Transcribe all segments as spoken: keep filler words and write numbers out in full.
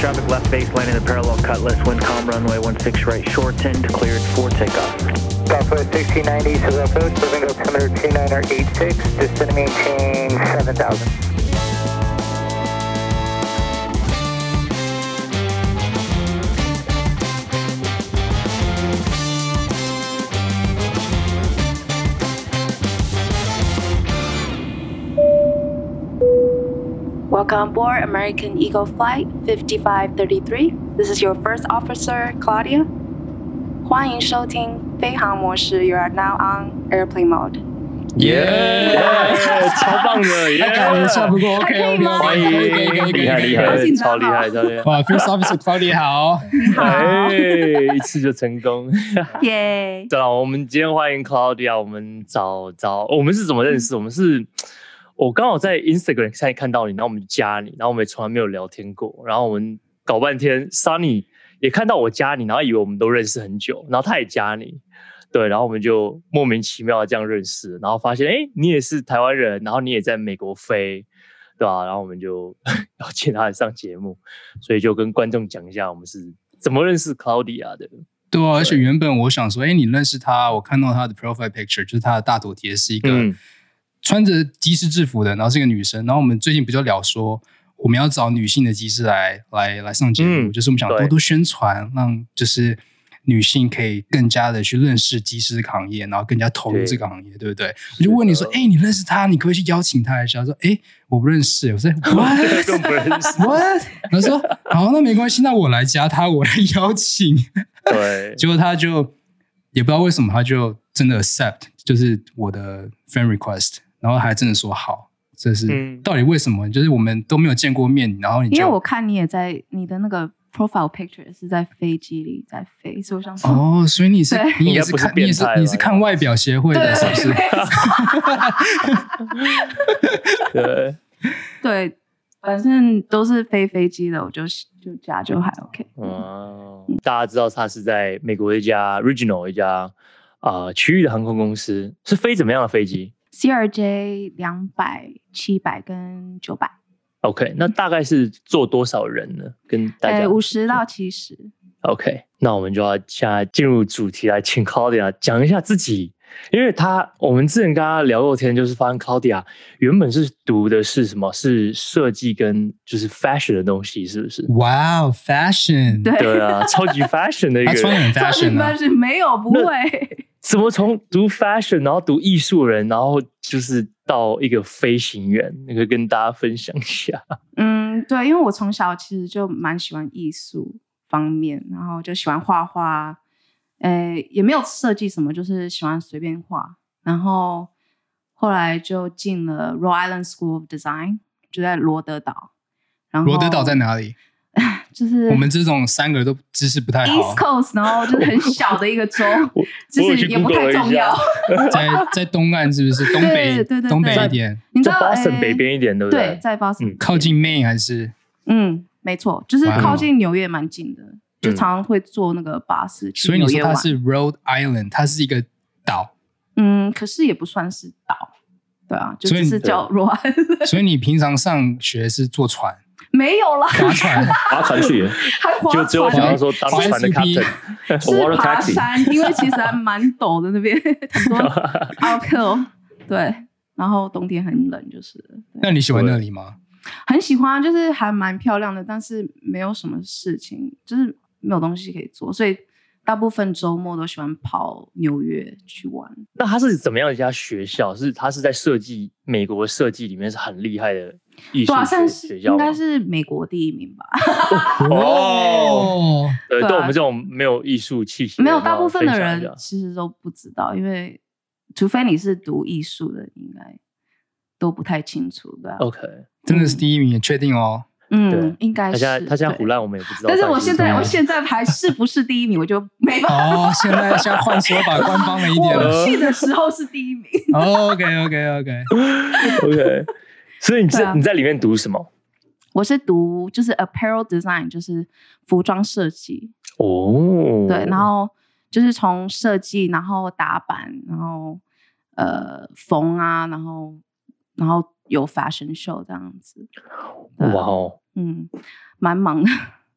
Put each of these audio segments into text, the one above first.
traffic left base landing the parallel cutlass, wind calm, runway one six right shortened, cleared for takeoff. Southwest sixteen ninety, Civil Approach, moving altimeter two nine eight six, descending maintain seven thousand. Welcome aboard American Eagle Flight fifty-five thirty-three. This is your first officer, Claudia. 欢迎收听飞航模式 You are now on airplane mode. 耶、yeah, yeah, 超棒的！ 太感人差不多 OK OK， 歡迎，厲害厲害，超厲害超厲害！ 哇 ，First Officer Claudia 好， 你好， 哎，一次就成功， 耶！ 对了，我們今天歡迎 Claudia， 我們找找，我們是怎麼認識？我們是。我剛好在 Instagram 上看到你，然後我們就加你，然後我們也從來沒有聊天過，然後我們搞半天 ，Sunny 也看到我加你，然後以為我們都認識很久，然後他也加你，對，然後我們就莫名其妙的這樣認識，然後發現，哎，你也是台灣人，然後你也在美國飛，對吧、啊？然後我們就邀請他來上節目，所以就跟觀眾講一下我們是怎麼認識 Claudia 的。 對啊，而且原本我想說，哎，你認識他，我看到他的 profile picture， 就是他的大頭貼是一個。嗯穿着機師制服的，然後是一個女生，然後我們最近不就聊說我們要找女性的機師來來來上節目、嗯，就是我們想多多宣傳，讓就是女性可以更加的去認識機師行業，然後更加投入這個行業， 對, 對不對？我就問你說，哎，你認識他？你可不可以去邀請他一下？他說，哎，我不認識。我說 ，what？ 更不認識 ，what？ 他說，好，那沒關係，那我來加他，我來邀請。 對， 結果他就也不知道為什麼，他就真的 accept， 就是我的 friend request。然後還真的說好，這是、嗯、到底為什麼？就是我們都沒有見過面，然後你就因為我看你也在你的那個 profile picture 是在飛機裡在飛，所以我想說哦，所以你是你也是看是你也是你是看外表協會的，是不是？ 對對，反正都是飛飛機的，我就就加就還 OK。 哦、嗯，大家知道他是在美國一家 Regional 一家啊、呃、區域的航空公司，是飛怎麼樣的飛機？ C R J 兩百、七百跟九百。 OK， 那大概是坐多少人呢？跟大家五十到七十。 OK， 那我們就要現在進入主題，來請 Claudia 講一下自己，因為他我們之前跟他聊過天，就是發現 Claudia 原本是讀的是什麼？是設計跟就是 fashion 的東西，是不是？ 哇、wow, 哦 ，fashion， 對對啊，超級 fashion 的一個人， 他穿很 fashion 啊， 沒有不會。 怎麼從讀 fashion， 然後讀藝術人，然後就是到一個飛行員，那個跟大家分享一下。 嗯，對，因為我從小其實就蠻喜歡藝術方面，然後就喜歡畫畫，誒，也沒有設計什麼，就是喜歡隨便畫。然後後來就進了 Rhode Island School of Design， 就在羅德島。然後羅德島在哪裡？ 就是我們這種三個都知識不太好 East Coast， 然後就是很小的一個州，就是也不太重要。 在在東岸是不是？東北對對對對東北一點， 你知道 Boston 北邊一點，對不對？ 對，在 Boston、嗯、 靠近 Maine 還是？ 嗯，沒錯，就是靠近紐約蠻近的，就常常會坐那個巴士去紐約玩。 所以你說它是 Rhode Island， 它是一個島。 嗯，可是也不算是島，對啊，就只是叫 Rhode Island。 所以你平常上學是坐船？ 沒有啦， 划船， 划船去， 還划船， 就只有想要說當船的 captain， 是爬山，因為其實還蠻陡的那邊，很多 uphill， 對，然後冬天很冷，就是。 那你喜歡那裡嗎？ 很喜歡，就是還蠻漂亮的，但是沒有什麼事情，就是沒有東西可以做，所以大部分週末都喜歡跑紐約去玩。 那它是怎麼樣一家學校？是它是在設計美國設計裡面是很厲害的藝術學校， 應該是美國第一名吧。 哦，對，對我們這種沒有藝術氣息， 沒有，大部分的人其實都不知道，因為除非你是讀藝術的，應該都不太清楚，對吧、啊、 ？OK， 真的是第一名，也確定哦。 嗯，應該是。他現在他現在唬爛，我們也不知道。 但是我現在，我現在還是不是第一名，我就沒辦法。 哦，現在現在換說法，官方了一點了。 我去的時候是第一名。 OK OK OK OK。所以你在、啊、你在裡面讀什麼？ 我是讀就是 apparel design， 就是服裝設計。 哦。 對，然後就是從設計，然後打版，然後呃縫啊，然後然後有 fashion show 這樣子。 哇哦。 嗯，蠻忙的。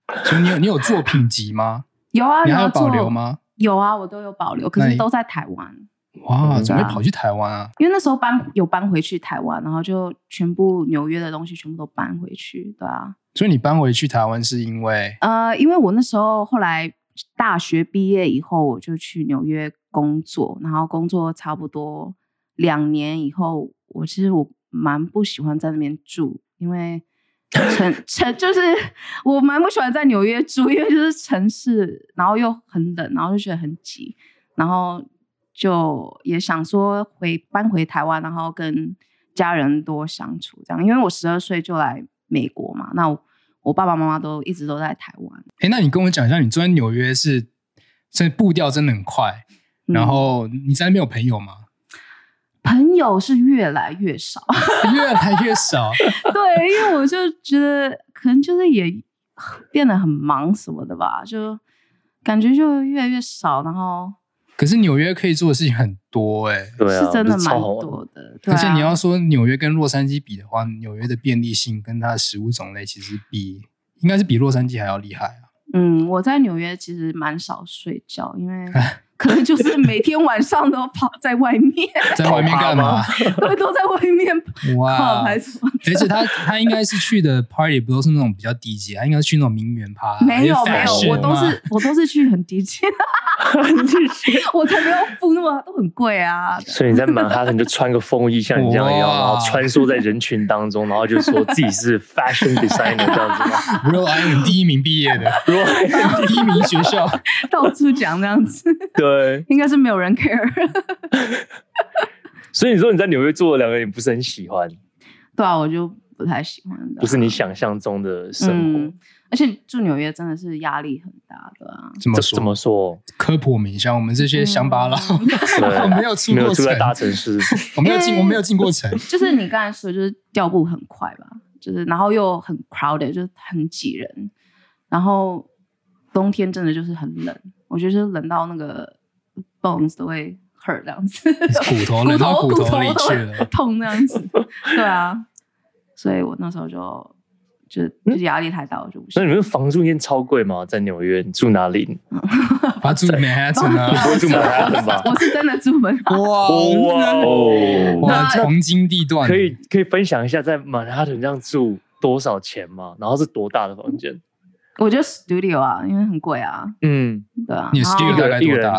所以你有你有作品集嗎？ 有啊， 你還有保留嗎？ 有啊，我都有保留，可是都在台灣。 哇，怎麼會跑去台灣啊？ 因為那時候搬有搬回去台灣，然後就全部紐約的東西全部都搬回去，對啊。 所以你搬回去台灣是因為？ 呃，因為我那時候後來大學畢業以後，我就去紐約工作，然後工作差不多兩年以後，我其實我蠻不喜歡在那邊住，因為城城就是我蠻不喜歡在紐約住，因為就是城市，然後又很冷，然後就覺得很擠，然後就也想說回搬回台灣，然後跟家人多相處這樣。因為我十二歲就來美國嘛，那我，我爸爸媽媽都一直都在台灣。 哎，那你跟我講一下，你住在紐約是，這步調真的很快，嗯、然後你在那邊有朋友嗎？ 朋友是越來越少， 越來越少。 對，因為我就覺得可能就是也變得很忙什麼的吧，就感覺就越來越少。然後，可是紐約可以做的事情很多哎、欸， 對啊， 是真的蠻多的。 而且你要說紐約跟洛杉磯比的話，紐約的便利性跟它的食物種類其實比應該是比洛杉磯還要厲害啊。嗯， 我在紐約其實蠻少睡覺，因為。可能就是每天晚上都跑在外面， 在外面幹嘛？ 對，都在外面哇，還是什麼？ 而且他他應該是去的 party 不都是那種比較低級，他應該是去那種名媛趴。 沒有沒有，我都是我都是去很低級，我才沒有付那麼都很貴啊。 所以你在曼哈頓就穿個風衣像你這樣一樣，然後穿梭在人群當中，然後就說自己是 fashion designer 這樣子嗎 ？Rhode Island 第一名畢業的，Rhode Island 第一名學校， 到處講這樣子。 對， 應該是沒有人 care 。 所以你說你在紐約做了兩個，你不是很喜歡？ 對啊，我就不太喜歡的， 不是你想象中的生活。嗯、 而且住紐約真的是壓力很大的啊。 怎麼說？ 怎麼說？ 科普我們一下，我們這些鄉巴佬，嗯、我沒有出過城，沒有住在大城市， 我沒有進，我沒有進過城。 就是你剛才說，就是調步很快吧，就是然後又很 crowded，就是很擠人，然後冬天真的就是很冷，我覺得就是冷到那個。bones 都會 hurt 這樣子， 骨頭冷到骨頭裡去了， 痛這樣子，對啊，所以我那時候就就就是壓力太大，我就不行。 那你們房租一定超貴嗎？在紐約，你住哪裡？ 他住曼哈頓啊， 你不會住曼哈頓吧？ 我是真的住曼哈頓。 哇哦，哇，黃金地段， 可以可以分享一下在曼哈頓這樣住多少錢嗎？然後是多大的房間？ 我覺得 studio 啊，因為很貴啊。嗯，對啊。 你 studio 大概多大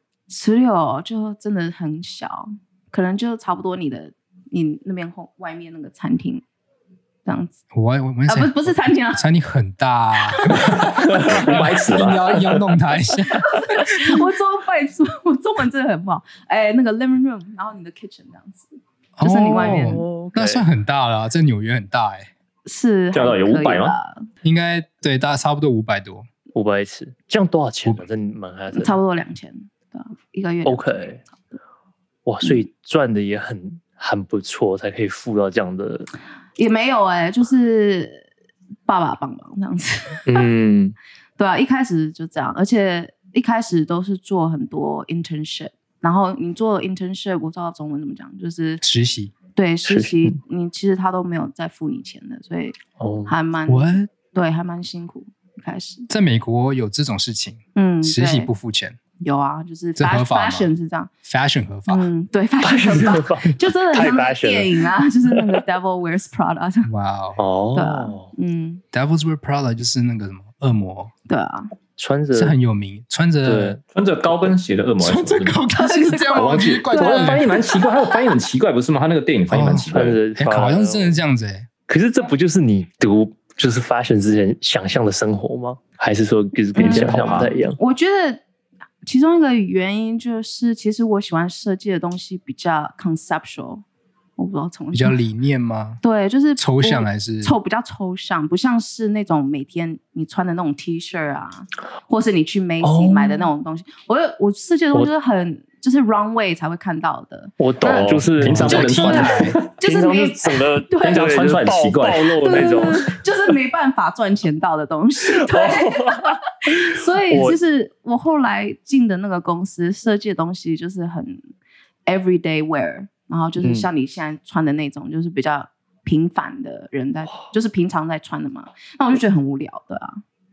？studio 就真的很小，可能就差不多你的你那邊後外面那個餐廳這樣子。 我我我啊，不是不是餐廳啊， 餐廳很大， 五百尺吧， 要要弄它一下。 我中拜說，我中文真的很不好。哎，那個 living room， 然後你的 kitchen 這樣子，就是你外面， 哦、那算很大了，在紐約很大哎。 是， 這樣有五百嗎？ 應該對，大概差不多五百多， 五百尺，這樣多少錢呢？在曼哈頓差不多兩千，對，一個月。 OK， 哇，所以賺的也很很不錯，才可以付到這樣的。 也沒有哎、欸，就是爸爸幫忙這樣子。嗯，對啊，一開始就這樣，而且一開始都是做很多 internship， 然後你做 internship， 我不知道中文怎麼講，就是實習。 對，實習你其實他都沒有再付你錢的，所以還蠻、oh, 對，還蠻辛苦。一開始在美國有這種事情，嗯，實習不付錢， 有啊，就是 fashion, 合法 fashion 是這樣 ，fashion 合法， 嗯，對 ，fashion 合法，就真的很像電影啊，就是那個 Devil Wears Prada， 哇哦，對啊，嗯 ，Devil Wears Prada 就是那個什麼惡魔， 對啊。 穿着是很有名，穿着穿着高跟鞋的惡魔， 穿着高跟鞋是這樣， 我忘記，怪怪的翻譯蠻奇怪，他的翻譯很奇怪，不是嗎？他那個電影翻譯蠻奇怪的， 哎，好像是真的這樣子哎。 可是這不就是你讀就是 fashion 之前想象的生活嗎？還是說就是跟你想象不太一樣？ 我覺得其中一個原因就是，其實我喜歡設計的東西比較 conceptual。我不知道從比較理念嗎？ 對，就是抽象還是抽比較抽象，不像是那種每天你穿的那種 T 恤啊，或是你去 Macy 買的那種東西。我我設計的東西就是很就是 runway 才會看到的。 我懂，就是平常不能穿的， 就是沒整個平常穿出來很奇怪， 暴露的那種， 就是沒辦法賺錢到的東西。對，所以就是我後來進的那個公司設計的東西就是很 everyday wear。然後就是像你現在穿的那種，嗯、就是比較平凡的人在，就是平常在穿的嘛。那我就覺得很無聊的啊。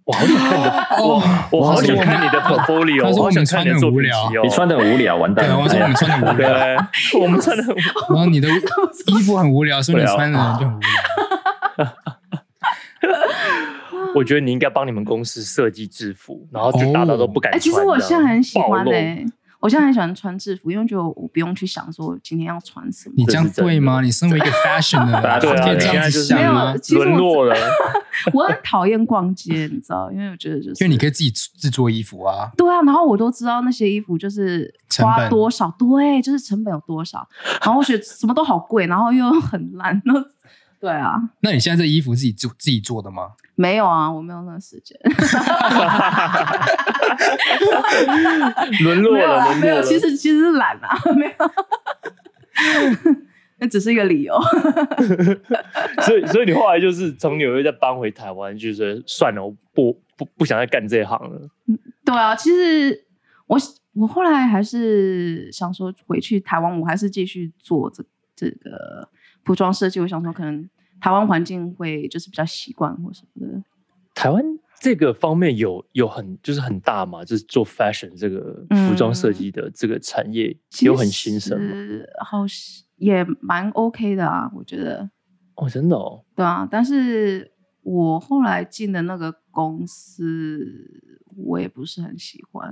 我好想看你的，我我好想看你的 portfolio， 我好想看你的作品集哦。 你穿的很無聊，完蛋了。 我说我們穿的無聊， 我們穿的。 然後你的衣服很無聊，所以你穿的人就很无聊。 我覺得你應該幫你們公司設計制服，然後就大家都不敢穿。 哎，其實我現在很喜歡哎。我現在很喜歡穿制服，因為覺得我不用去想說今天要穿什麼。 你這樣對嗎？你身為一個 fashion 的人， 對啊， 可以這樣子想嗎？ 淪落了。 我很討厭逛街，你知道，因為我覺得就是因為你可以自己制作衣服啊。 對啊，然後我都知道那些衣服就是花多少，對，就是成本有多少。然後我覺得什麼都好貴，然後又很爛，然後對啊。 那你現在這衣服自己做自己做的嗎？ 沒有啊，我沒有那個時間。 淪落了，淪落了。 沒有，其實其實是懶啊，沒有。那只是一個理由。 所以，所以你後來就是從紐約再搬回台灣，就是算了，我不不不想再幹這一行了。 對啊，其實我我後來還是想說回去台灣，我還是繼續做這這個服裝設計。我想說，可能台灣環境會就是比較習慣或什麼的。 台灣這個方面有有很就是很大嘛，就是做 fashion 這個服裝設計的這個產業、嗯、有很興盛嗎？ 好，也蠻 OK 的啊，我覺得。 哦，真的哦。對啊，但是我後來進的那個公司，我也不是很喜歡。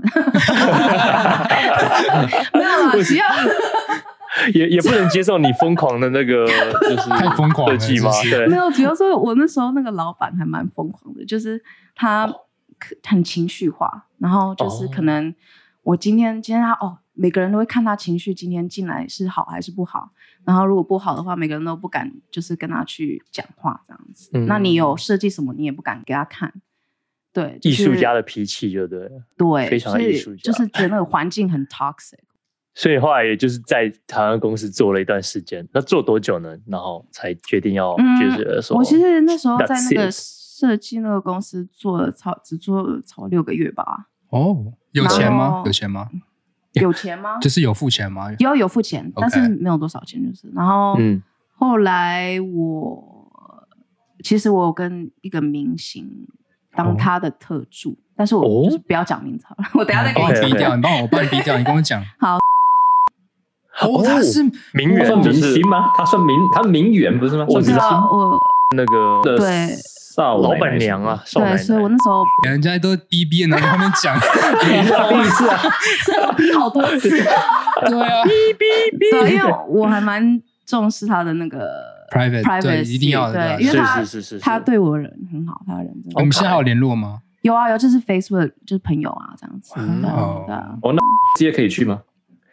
沒有啊，只要也也不能接受你瘋狂的那個，就是太瘋狂了設計嗎？對， 沒有，主要是我那時候那個老闆還蠻瘋狂的，就是他很情緒化，然後就是可能我今天今天他哦，每個人都會看他情緒今天進來是好還是不好，然後如果不好的話，每個人都不敢就是跟他去講話這樣子。嗯、那你有設計什麼，你也不敢給他看。對，就是、 藝術家的脾氣就對了， 對， 非常的藝術家， 就是覺得那個環境很 toxic。 所以後來也就是在台灣公司做了一段時間，那做多久呢？然後才決定要就是說、嗯， 我其實那時候在那個設計那個公司做了超只做了超六個月吧。 哦，有錢嗎？有錢嗎？ 有錢嗎？ 就是有付錢嗎？ 有有付錢，但是沒有多少錢，就是。然後、嗯、後來我其實我有跟一個明星當他的特助，哦、但是我就是不要講名字好了，我等一下再給你逼掉，你幫我，我幫你逼掉，你跟我講。 好。 哦，他是名媛， 算明星嗎？他算名，他名媛不是嗎？ 我知道，我那個對少老闆娘啊，少奶奶對，所以我那時候人家都逼逼，然後他們講， 你是第一次啊， 所以我逼好多次，對啊， 逼逼逼，對，因為我還蠻重視他的那個 private private， 一定要的， 對，因為他他對我人很好，他的人真的。 我們現在還有聯絡嗎？ 有啊有，就是 Facebook 就是朋友啊這樣子。 哦，哦，那接可以去嗎？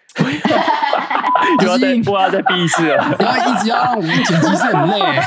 又要再播，要再逼一次了， 然後一直要讓我們剪輯是很累。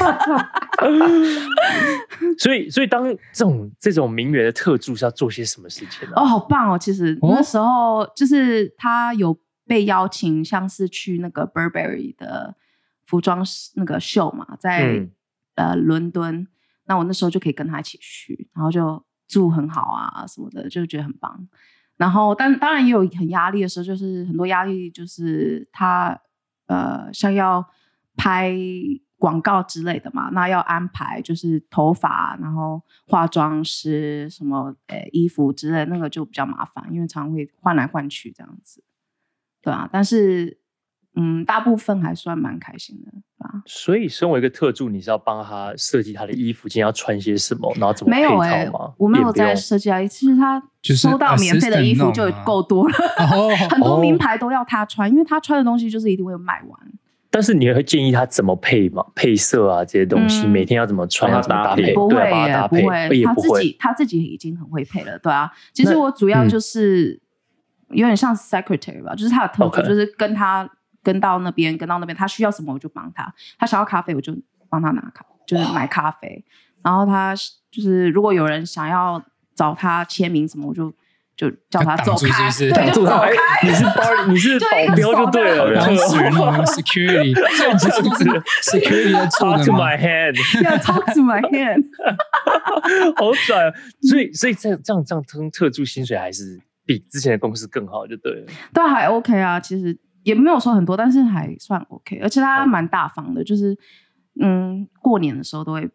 所以，所以當這種這種名媛的特助是要做些什麼事情呢？ 哦，好棒哦！其實那時候就是他有被邀請，像是去那個 Burberry 的服裝那個秀嘛，在、嗯、呃倫敦。那我那時候就可以跟他一起去，然後就住很好啊什麼的，就覺得很棒。然後，但當然也有很壓力的時候，就是很多壓力，就是他呃，像要拍廣告之類的嘛，那要安排就是頭髮，然後化妝師什麼呃衣服之類的，那個就比較麻煩，因為常常會換來換去這樣子，對啊。但是嗯，大部分還算蠻開心的，對吧？所以，身為一個特助，你是要幫他設計他的衣服，今天要穿些什麼，然後怎麼配套嗎？沒有欸，我沒有在設計啊。其實他收到免費的衣服就夠多了，就是、很多名牌都要他穿，因為他穿的東西就是一定會賣完。 但是你會建議他怎麼配嗎？配色啊這些東西，嗯、每天要怎麼穿，要怎麼搭配？ 不會耶， 對， 不會，他自己他自己已經很會配了，對啊。其實我主要就是有點像 secretary 吧，就是他的特助，就是跟他。跟到那邊，跟到那邊，他需要什麼我就幫他。他想要咖啡，我就幫他拿咖，就是買咖啡。然後他就是如果有人想要找他簽名什麼，我就就叫他走開，是是對，就走開。 你是保，你是保鏢就對了。 然後屬於那種 security，這其實都是 security 在做的嗎 ？Talk to my hand，yeah, talk to my hand 。 好拽啊！所以，所以這樣這樣這樣特助薪水還是比之前的公司更好，就對了。 對，還 OK 啊，其實。也沒有說很多，但是還算 OK，而且他蠻大方的，就是嗯，過年的時候都會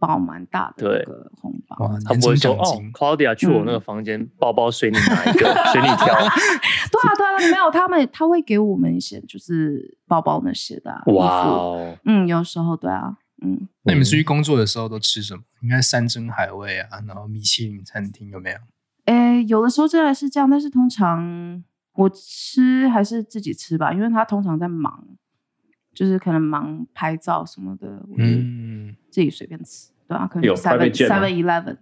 包蠻大的那個紅包。 哇， 他不會說哦 ，Claudia 去我那個房間，包包隨你哪一個，隨你挑。對啊，對啊，沒有他們，他會給我們一些就是包包那些的、啊、 哇哦， 嗯，有時候對啊，嗯。 那你們出去工作的時候都吃什麼？應該山珍海味啊，然後米其林餐廳有沒有？ 誒，有的時候真的是這樣，但是通常我吃還是自己吃吧，因為他通常在忙，就是可能忙拍照什麼的，嗯，自己隨便吃，對啊，可能 seven seven eleven，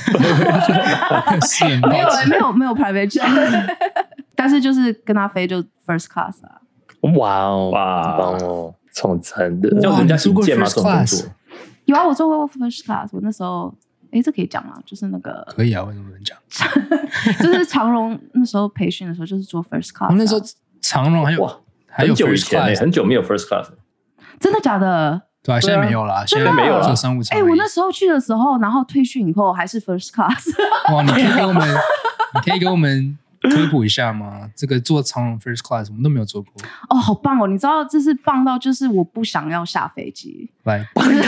沒有沒有沒有 private jet， 但是就是跟他飛就 first class 啊， 哇哦哇，很棒哦，超讚的， 叫人家引薦嗎？這種工作有啊，我做過 first class， 我那時候。哎，這可以講嗎？就是那個可以啊，為什麼不能講？ 就是長榮那時候培訓的時候，就是做 first class、啊。 那時候長榮還有哇，還有 first class，很久以前、欸、 很久沒有 first class， 真的假的？ 對啊，現在沒有啦，現在沒有了。做商務艙。哎，我那時候去的時候，然後退訓以後還是 first class。 哇，你可以給我們，你可以給我們科普一下嗎？這個做長榮 first class 我們都沒有做過。 哦，好棒哦！你知道這是棒到就是我不想要下飛機， 來，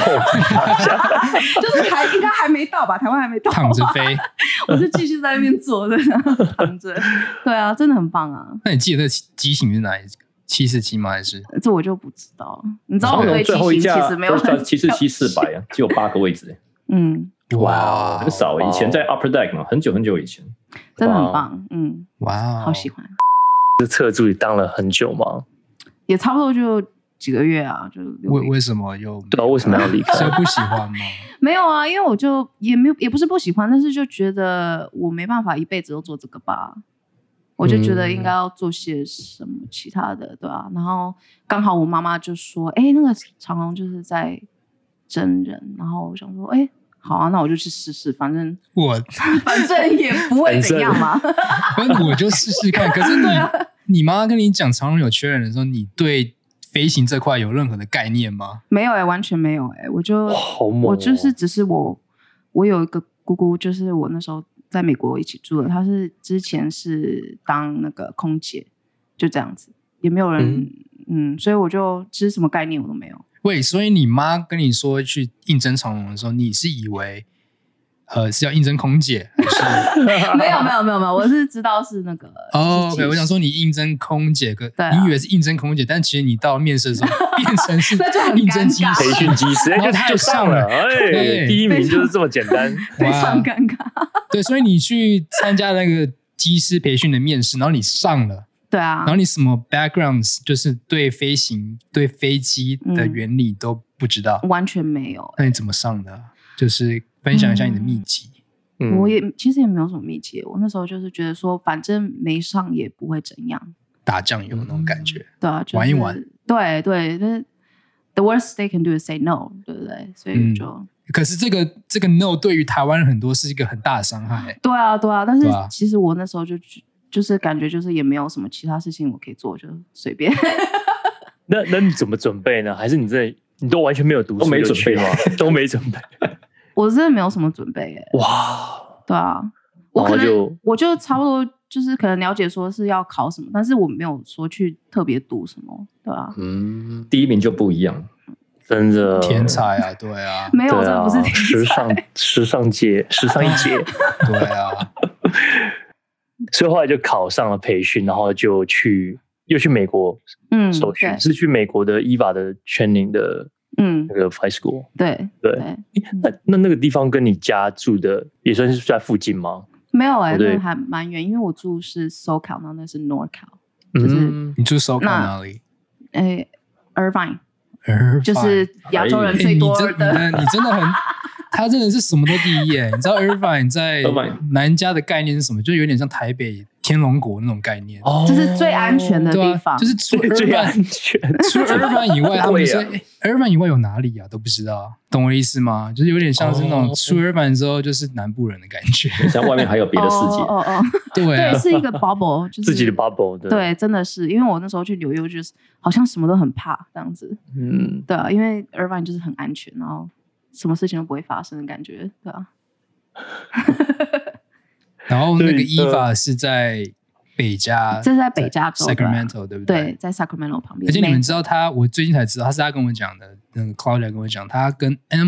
就是還應該還沒到吧？台灣還沒到， 躺着飛， 我就繼續在那邊坐着，然後躺着。對啊，真的很棒啊！ 那你記得那機型是哪一個？七四七嗎？還是這我就不知道。你知道我對機型其實沒有很七四七四百啊，只有八個位置。 嗯， 哇，很少。以前在 Upper Deck 嘛，很久很久以前。 真的很棒，嗯， 哇， 好喜歡。 这侧助理當了很久嗎？ 也差不多就幾個月啊，就為為什麼又對啊？為什麼要離開？ 是不喜歡嗎？ 沒有啊，因為我就也沒有，也不是不喜歡，但是就覺得我沒辦法一輩子都做這個吧。我就覺得應該要做些什麼其他的，對啊。然後剛好我媽媽就說：“哎，那個長榮就是在徵人。”然後我想說：“哎。”好啊，那我就去試試，反正我反正也不會怎樣嘛。 我就試試看。可是你、啊、你媽跟你講長榮有缺人的時候，你對飛行這塊有任何的概念嗎？ 沒有哎、欸，完全沒有哎、欸。我就、哦、我就是只是我我有一個姑姑，就是我那時候在美國一起住的，她是之前是當那個空姐，就這樣子，也沒有人嗯，嗯，所以我就其實什麼概念我都沒有。 喂，所以你媽跟你說去應徵長榮的時候，你是以為呃是要應徵空姐還是？ 沒有沒有沒有沒有，我是知道是那個。 哦、oh, ，OK， 我想說你應徵空姐，可、啊、你以為是應徵空姐，但其實你到面試的時候變成是應徵機師、 培訓機師，然後他就上了，哎，第一名就是這麼簡單， 非常尷尬。 對，所以你去參加那個機師培訓的面試，然後你上了。 對啊， 然後你什麼 backgrounds 就是對飛行、對飛機的原理都不知道， 嗯、完全沒有、欸。 那你怎麼上的？就是分享一下你的秘籍。 嗯、我也其實也沒有什麼秘籍，我那時候就是覺得說，反正沒上也不會怎樣， 打醬油那種感覺。 嗯、對啊、就是， 玩一玩。 對對，就是 the worst they can do is say no， 對不對？所以就。嗯、 可是這個這個 no 對於台灣人很多是一個很大的傷害、欸。 對啊，對啊，但是其實我那時候就。就是感覺就是也沒有什麼其他事情我可以做，就隨便。 那那你怎麼準備呢？還是你真的你都完全沒有讀書， 都沒準備嗎？ 都沒準備。 我真的沒有什麼準備耶。 哇， 對啊，我可能就我就差不多就是可能了解說是要考什麼，但是我沒有說去特別讀什麼，對啊。 嗯，第一名就不一樣， 真的天才啊，對啊， 沒有，這、啊、不是天才， 時尚時尚界時尚一姐， 對啊。 所以後來就考上了培訓，然後就去又去美國受訓、嗯，是去美國的 E V A 的 training 的那個 flight school。對對，對那那那個地方跟你家住的也算是在附近嗎？ 沒有哎、欸，那還蠻遠，因為我住是 SoCal， 然後那是 NorCal， 就是、 嗯、你住 SoCal 哪裡？ 哎 Irvine， 就是亞洲人最多的。 欸、你, 你真的很。他真的是什麼都第一耶！你知道 Irvine 在南加的概念是什麼？就有點像台北天龍國那種概念， 哦，就是最安全的地方。啊、就是除 Irvine, 最安全， 除 Irvine 以外，他們說、啊欸、Irvine 以外有哪裡啊？都不知道，懂我的意思嗎？就是有點像是那種出 Irvine 之後就是南部人的感覺， 像外面還有別的世界。 哦哦哦，對、啊，對，是一個 bubble，就是自己的 bubble 對。 對，真的是，因為我那時候去紐約，就是好像什麼都很怕這樣子。嗯，對啊，因為 Irvine 就是很安全，然後。什麼事情都不會發生的感覺，對吧、啊？ 然後那個 E V A 是在北加， 這是在北加州 Sacramento， 對不對？ 對，在 Sacramento 旁邊。 而且你們知道他，我最近才知道，他是他跟我講的，那個 Claudia 跟我講，他跟 Emily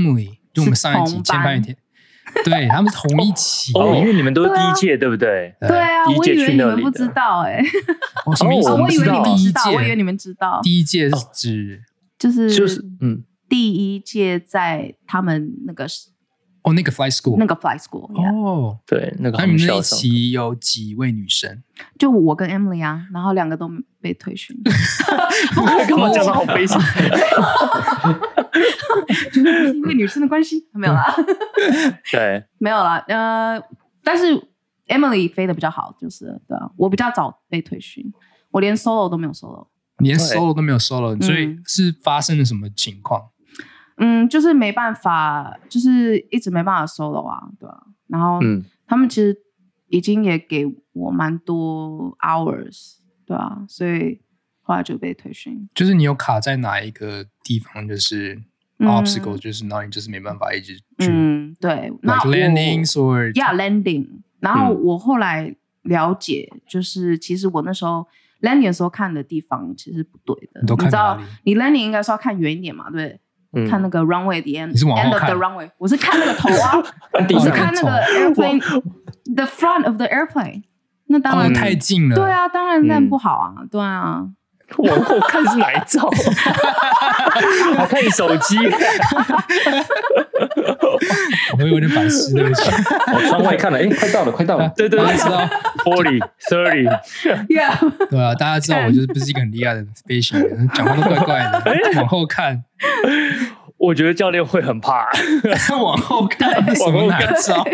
就我們上一集前半天，對他們是同一期哦，因為你們都是第一屆，對不對？ 对啊，我以为你們不知道哎。 哦，什麼意思？ 我以為你們知道，我以為你們知道。 第一屆是指就是就是嗯， 第一屆在他們那個哦那個 flight school 那個 flight school 哦， 對，那個他們那一期有幾位女生？就我跟 Emily 啊，然後兩個都被退訓。 幹嘛講得好悲傷？ 就是因為女生的關係，沒有啦。 對， 沒有啦。呃，但是 Emily 飛得比較好，就是對啊，我比較早被退訓，我連 solo 都沒有 solo， 連 solo 都沒有 solo，所以是發生了什麼情況？ 嗯，就是沒辦法，就是一直沒辦法 solo 啊，對啊。然後，嗯，他們其實已經也給我蠻多 hours， 對啊，所以後來就被退訓。 就是你有卡在哪一個地方，就是 obstacle，、嗯、就是然後你就是沒辦法一直去。 嗯，對。那 like landings or yeah landing。然後我後來了解，就是其實我那時候 landing 的時候看的地方其實是不對的。 你都看哪裡？ 你知道，你 landing 應該是要看遠一點嘛，對不對？嗯、看那個 runway 的 end， end of the runway， 我是看那個頭啊，我是看那個 airplane the front of the airplane， 那當然、 哦、太近了， 對啊，當然那不好啊，嗯、對啊， 往後看是哪一照？我看你手機， 我有點白痴，對不起， 我窗外看了，哎，快到了，快到了， 對對對，知道 forty thirty， yeah， 對啊，大家知道我就是不是一個很厲害的飛行員，講話都怪怪的，往後看。 我覺得教練會很怕， 往後看，往後看，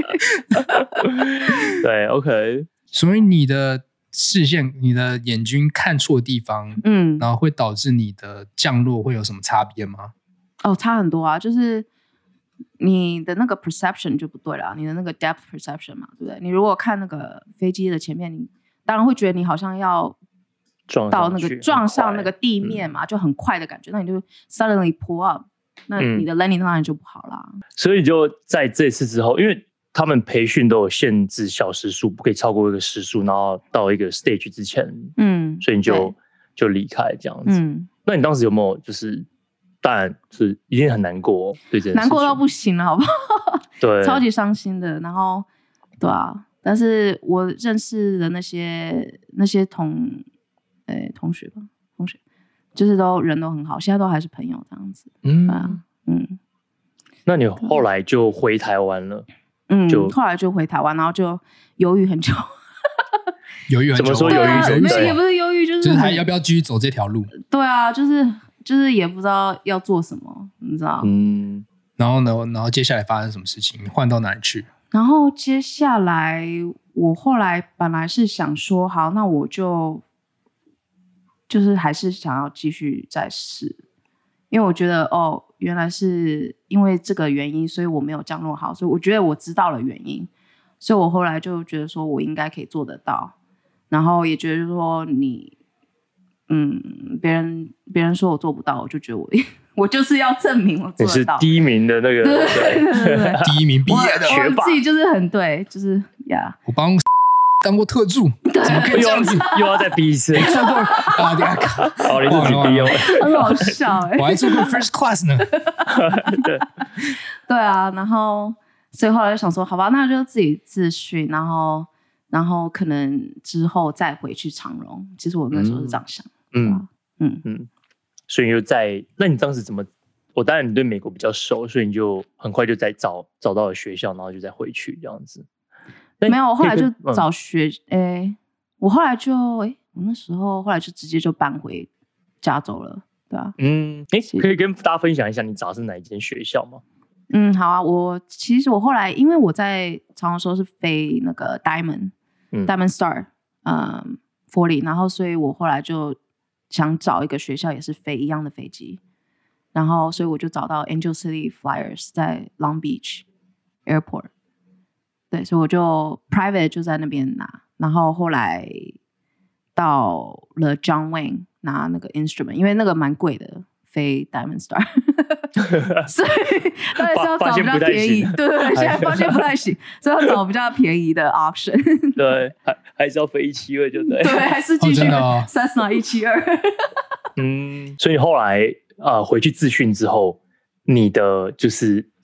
對 ，OK。 所以你的視線、你的眼睛看錯地方，嗯，然後會導致你的降落會有什麼差別嗎？ 哦，差很多啊，就是你的那個 perception 就不對了，你的那個 depth perception 嘛，對不對？你如果看那個飛機的前面，你當然會覺得你好像要到那個撞上那個地面嘛，就很快的感覺，那你就 suddenly pull up。那你的 landing 當然就不好啦、嗯。 所以就在這次之後，因為他們培訓都有限制小時數，不可以超過一個時數，然後到一個 stage 之前，嗯，所以你就就離開這樣子。嗯，那你當時有沒有就是，當然是一定很難過，對這件事情難過到不行了，好不好？ 對， 超級傷心的。然後，對啊，但是我認識的那些那些同，誒，同學吧，同學。就是都人都很好，現在都還是朋友這樣子。嗯、啊、嗯， 那你後來就回台灣了？ 嗯，就後來就回台灣，然後就猶豫很久。 猶豫很久？ 怎麼說猶豫？ 猶豫沒有，也不是猶豫，就是就是還要不要繼續走這條路？ 對啊，就是就是也不知道要做什麼，你知道？ 嗯，然後呢？然後接下來發生什麼事情？你換到哪裡去？ 然後接下來我後來本來是想說，好，那我就。就是還是想要繼續再試，因為我覺得哦，原來是因為這個原因，所以我沒有降落好，所以我覺得我知道了原因，所以我後來就覺得說我應該可以做得到，然後也覺得說你，嗯，別人別人說我做不到，我就覺得我我就是要證明我做得到。 你是第一名的那個， 對對對對對， 第一名畢業的學霸，我自己就是很對，就是呀， yeah. 我幫。當過特助，怎麼可以這樣子？ 又要再逼一次？ 你做過啊？等下看， 好，你自己逼我， 很好笑哎、欸！ 我還做過 first class 呢。 對，對啊，然後所以後來就想說，好吧，那就自己自訓，然後然後可能之後再回去長榮。其實我那時候是這樣想，嗯嗯嗯，嗯， 所以你就在，那你當時怎麼？我當然你對美國比較熟，所以你就很快就在找找到了學校，然後就再回去這樣子。 沒有，我後來就找學，誒、嗯欸，我後來就，誒、欸，我那時候後來就直接就搬回加州了，對啊， 嗯，誒、欸，可以跟大家分享一下你找的是哪一間學校嗎？ 嗯，好啊，我其實我後來因為我在長榮的時候是飛那個 Diamond，嗯，Diamond Star，嗯，forty，然後所以我後來就想找一個學校也是飛一樣的飛機，然後所以我就找到 Angel City Flyers 在 Long Beach Airport。對，所以我就 private 就在那邊拿，然後後來到了 John Wayne 拿那個 instrument， 因為那個蠻貴的，飛 Diamond Star， 所以當然是要找比較便宜。對對對，現在發現不太行，所以要找比較便宜的 option。 對，還還是要飛一七二就對。 對，還是繼續 Cessna 一七二。 嗯，所以後來呃回去自訓之後，你的就是。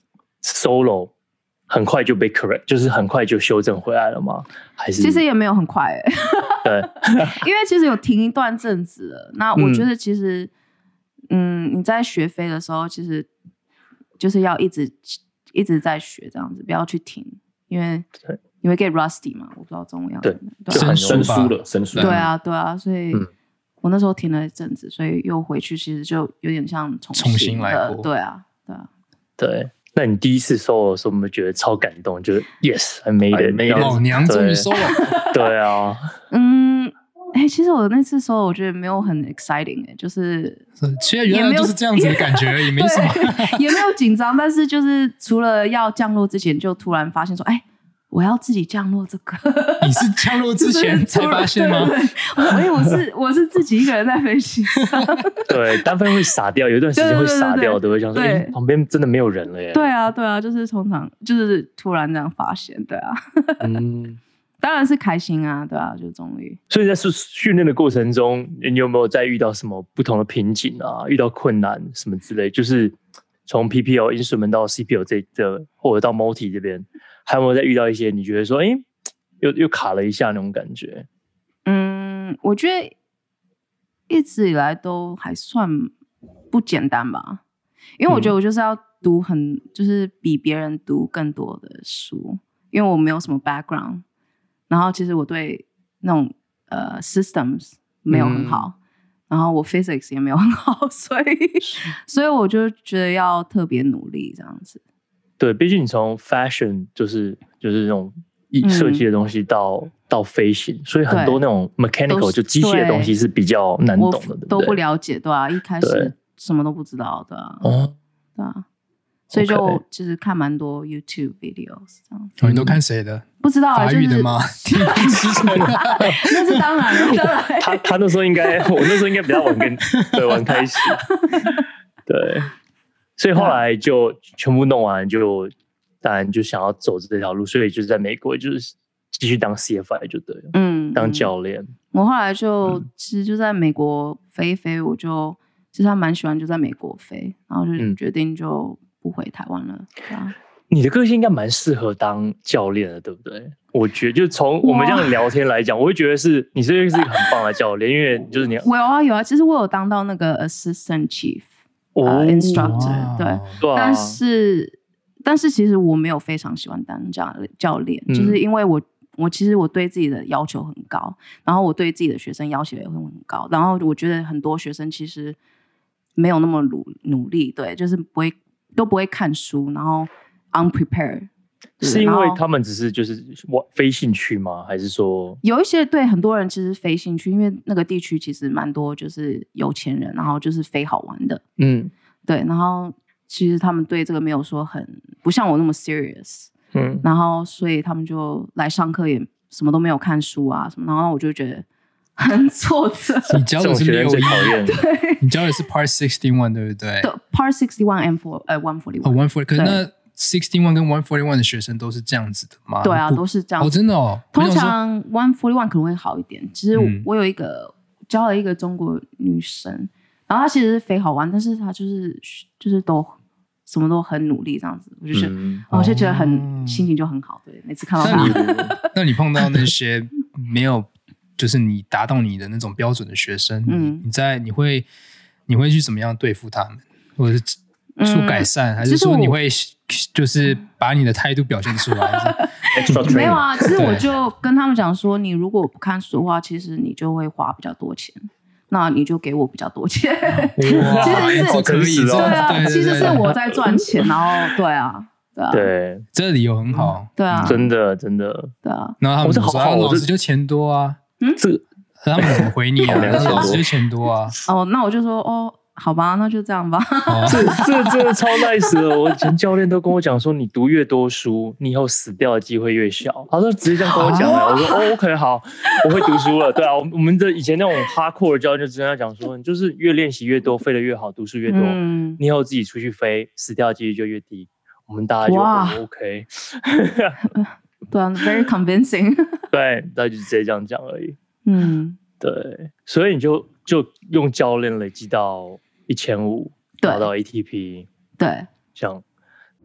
solo 很快就被 correct， 就是很快就修正回来了嗎？還是其實也沒有很快哎、欸。 對， 因為其實有停一段陣子了。那我覺得其實，嗯，嗯，你在學飛的時候，其實就是要一直一直在學這樣子，不要去停，因為你會 get rusty 嘛。我不知道中文要怎麼對，就很生疏了，生疏。 對啊，對啊，所以我那時候停了一陣子，所以又回去，其實就有點像重新， 重新來過。 對啊，對啊， 對。那你第一次 solo 的時候，我們覺得超感動，就是 yes I made it， 老娘終於 solo。 對啊， 嗯，哎、欸，其實我那次 solo 我覺得沒有很 exciting 哎、欸，就是其實原來就是這樣子的感覺而已，沒什麼， 也沒有緊張，但是就是除了要降落之前，就突然發現說，哎、欸。我要自己降落這個， 你是降落之前才發現嗎？ 對對對，因為我是我是自己一個人在飛機上。 對，單飛會傻掉，有一段時間會傻掉的，會想說，哎、欸，旁邊真的沒有人了耶。 對啊，對啊，就是通常就是突然這樣發現，對啊。嗯，當然是開心啊，對啊，就終於。所以在訓練的過程中，你有沒有再遇到什麼不同的瓶頸啊？遇到困難什麼之類？就是從 P P L instrument 到 C P L 這這，或者到 multi 這邊。還有沒有再遇到一些你覺得說，哎、欸，又又卡了一下那種感覺？ 嗯，我覺得一直以來都還算不簡單吧，因為我覺得我就是要讀很，就是比別人讀更多的書，因為我沒有什麼 background， 然後其實我對那種呃 systems 沒有很好，嗯、然後我 physics 也沒有很好，所以所以我就覺得要特別努力這樣子。 對，畢竟你從 fashion 就是就是那種設計的東西到、嗯、到飛行，所以很多那種 mechanical 就機械的東西是比較難懂的，對不對？ 都不了解，對啊，一開始什麼都不知道，對啊，哦、對啊，所以就其實看蠻多 YouTube videos 這樣。 哦，你都看誰的？ 不知道啊， 法語的嗎？ 那是當然了，當然。 他他那時候應該，我那時候應該比較晚跟對晚開始，對。所以後來就全部弄完，就當然就想要走這條路，所以就是在美國就是繼續當 C F I 就對了，嗯，當教練。我後來就、嗯、其實就在美國飛一飛，我就其實還蠻喜歡就在美國飛，然後就決定就不回台灣了。對啊， 你的個性應該蠻適合當教練的，對不對？我覺得就從我們這樣聊天來講，我會覺得是你是是一個很棒的教練，因為就是你我有啊有啊，其實我有當到那個 assistant chief。呃、uh, instructor 對，對，但是但是其實我沒有非常喜歡當教教練，嗯、就是因為我我其實我對自己的要求很高，然後我對自己的學生要求也會很高，然後我覺得很多學生其實沒有那麼努努力，對，就是不會都不會看書，然後 unprepared。 是因為他們只是就是非興趣嗎？還是說有一些對很多人其實非興趣，因為那個地區其實蠻多就是有錢人，然後就是飛好玩的，嗯，對，然後其實他們對這個沒有說很不像我那麼 serious，嗯，然後所以他們就來上課也什麼都沒有看書啊什麼，然後我就覺得很挫折。 你教的是六一， 對， 你教的是 Part sixty one 對不對？ 對 Part sixty one and four 呃 one forty one， 哦 one forty， 可是那sixty one跟one forty one的學生都是這樣子的嗎？ 對啊，都是這樣子。 哦，真的哦。 通常one forty one可能會好一點。其實我有一個、嗯、教了一個中國女生，然後她其實是飛好玩，但是她就是就是都什麼都很努力這樣子，我就覺得，嗯、我就覺得很、哦、心情就很好。對，每次看到她。 那你，那你碰到那些沒有就是你達到你的那種標準的學生，嗯，你在你會你會去怎麼樣對付他們，或者是出改善、嗯，還是說你會就是把你的態度表現出來？ 沒有啊，其實我就跟他們講說，你如果不看書的話，其實你就會花比較多錢，那你就給我比較多錢。其實是可以， 對啊，對對對對，其實是我在賺錢，然後對啊，對啊， 對， 這理由很好， 對啊， 真的真的， 對啊。 然後他們說，啊、老師就錢多啊，嗯，這他們怎麼回你啊？老師就錢多啊。 哦，那我就說哦。好吧，那就這樣吧。 這這真的超 nice 的。我以前教練都跟我講說，你讀越多書，你以後死掉的機會越小。他說直接這樣跟我講、啊、我說哦 ，OK， 好，我會讀書了。對啊，我們的以前那種 hardcore 的教練就直接講說，你就是越練習越多，飛得越好，讀書越多，嗯、你以後自己出去飛，死掉的幾率就越低。我們大家就、哦、OK。 對啊 ，very convincing。 對，那就直接這樣講而已。 嗯， 對，所以你就就用教練累積到一千五，拿到 A T P， 對， 這樣。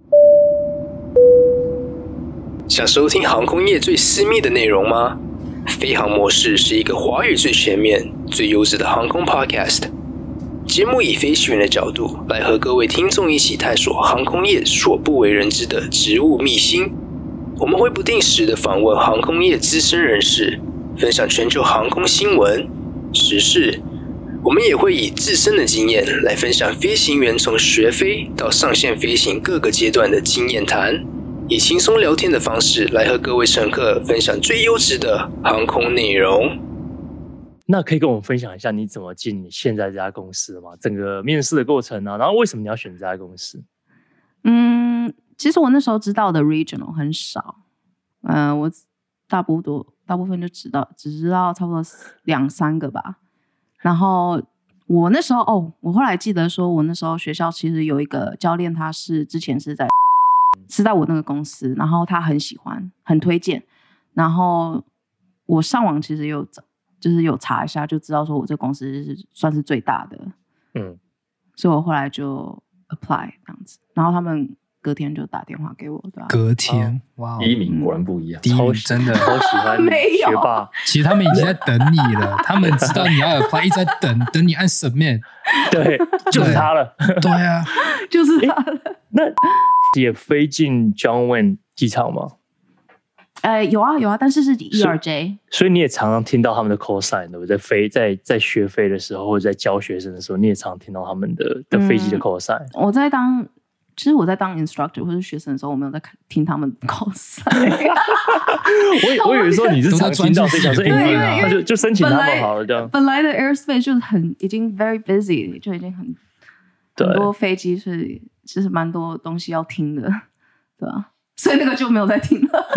想收聽航空業最私密的內容嗎？飛航模式是一個華語最全面、最優質的航空 podcast。節目以飛行員的角度來和各位聽眾一起探索航空業所不為人知的職務秘辛。我們會不定時的訪問航空業資深人士，分享全球航空新聞、時事。我們也會以自身的經驗來分享飛行員從學飛到上線飛行各個階段的經驗談，以輕鬆聊天的方式來和各位乘客分享最優質的航空內容。 那可以跟我們分享一下你怎麼進你現在這家公司的嗎？整個面試的過程啊，然後為什麼你要選這家公司？ 嗯，其實我那時候知道的 regional 很少，嗯、呃，我大部分大部分就知道只知道差不多兩三個吧。然後我那時候哦，我後來記得說，我那時候學校其實有一個教練，他是之前是在是在我那個公司，然後他很喜歡，很推薦。然後我上網其實有找。就是有查一下就知道說我這公司是算是最大的，嗯，所以我後來就 apply 這樣子，然後他們隔天就打電話給我，對吧？ 隔天，哇、哦， 第一名果然不一樣， 第一名真的好喜歡學霸。 其實他們已經在等你了，他們知道你要 apply，一直在等，等你按 submit。 對，就是他了。 對啊， 就是他了。 那也飛進 John Wayne 機場嗎？ 呃，有啊有啊，但是是 E R J， 所以，所以你也常常聽到他們的 call sign， 對不對？在飛在在學飛的時候，或者在教學生的時候，你也常常聽到他們的的飛機的 call sign。嗯、我在當，其實我在當 instructor 或者學生的時候，我沒有在聽他們的 call sign。 我我以為說你是常聽到，所以想說，哎、 欸， 那就就申請他們好了，這樣。 本來的 airspace 就很已經 very busy， 就已經很很多飛機是其實蠻多東西要聽的，對吧？所以那個就沒有在聽了。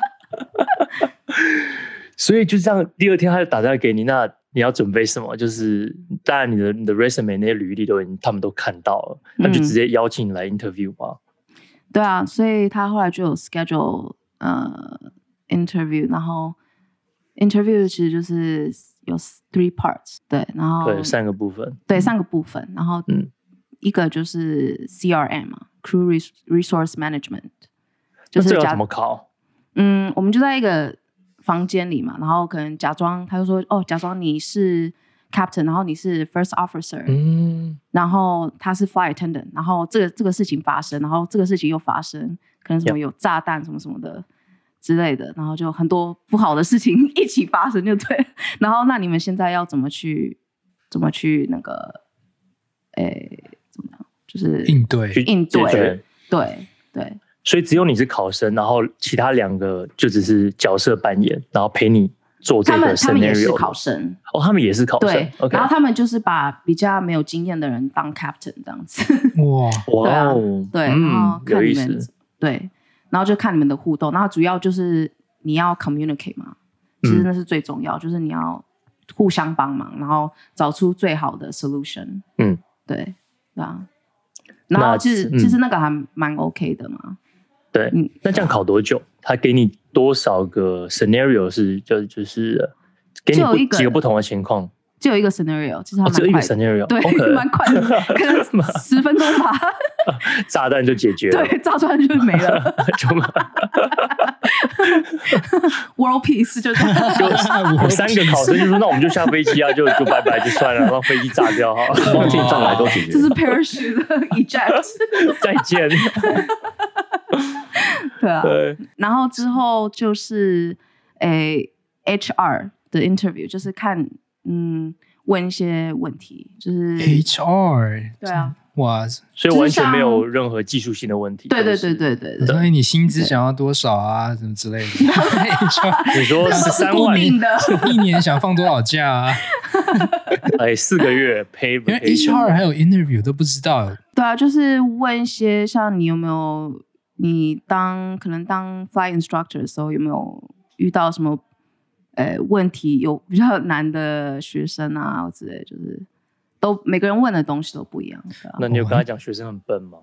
所以就這樣，第二天他就打電話給你，那你要準備什麼？就是當然你的你的 resume 那些履歷都已經他們都看到了，那、嗯、就直接邀請你來 interview 嗎？ 對啊，所以他後來就有 schedule 呃 interview， 然後 interview 其實就是有 three parts， 對，然後對三個部分， 對三個部分，然後嗯，一個就是 C R M 嘛 ，Crew Resource Management， 就是這要怎麼考？ 嗯，我們就在一個房間裡嘛，然後可能假裝，他就說，哦，假裝你是 captain， 然後你是 first officer，嗯，然後他是 flight attendant， 然後這個這個事情發生，然後這個事情又發生，可能什麼有炸彈什麼什麼的之類的，然後就很多不好的事情一起發生，就對。然後那你們現在要怎麼去怎麼去那個，誒，怎麼樣？就是應對應對，對對。 所以只有你是考生，然後其他兩個就只是角色扮演，然然後陪你做這個 scenario。他們他們也是考生哦，他們也是考生。對， okay. 然後他們就是把比較沒有經驗的人當 captain 這樣子。哇哇哦， 對，然後看你們、嗯、對，然後就看你們的互動，然後主要就是你要 communicate 嘛，其實那是最重要，嗯、就是你要互相幫忙，然後找出最好的 solution。嗯，對，對啊。然後其實、嗯、其實那個還蠻 OK 的嘛。 對，那這樣考多久？他給你多少個 scenario 是就就是給你幾個不同的情況？ 只有一個 scenario， 其實還蠻快的、哦、只有一個 scenario， 對，蠻、okay. 快的，可能十分鐘吧。 炸彈就解決了， 對，炸彈就沒了。World Peace 就這樣， 就有三個考生就說，那我們就下飛機啊，就就拜拜就算了，讓飛機炸掉哈， 望進上來都解決。 這是 parachute eject， 再見。 對啊，對，然後之後就是誒、欸、H R 的 interview， 就是看嗯問一些問題，就是 H R 對啊， 哇， 所以完全沒有任何技術性的問題。 對對對對對對， 所以你薪資想要多少啊，什麼之類的。H R 你說十三萬， 一年想放多少假啊？ 哎，四個月 pay， 因為 H R 還有 interview 都不知道。 對啊，就是問一些像你有沒有。你當可能當 flight instructor 的時候，有沒有遇到什麼呃問題？有比較難的學生啊之類，就是都每個人問的東西都不一樣。啊、 那你有跟他講學生很笨嗎？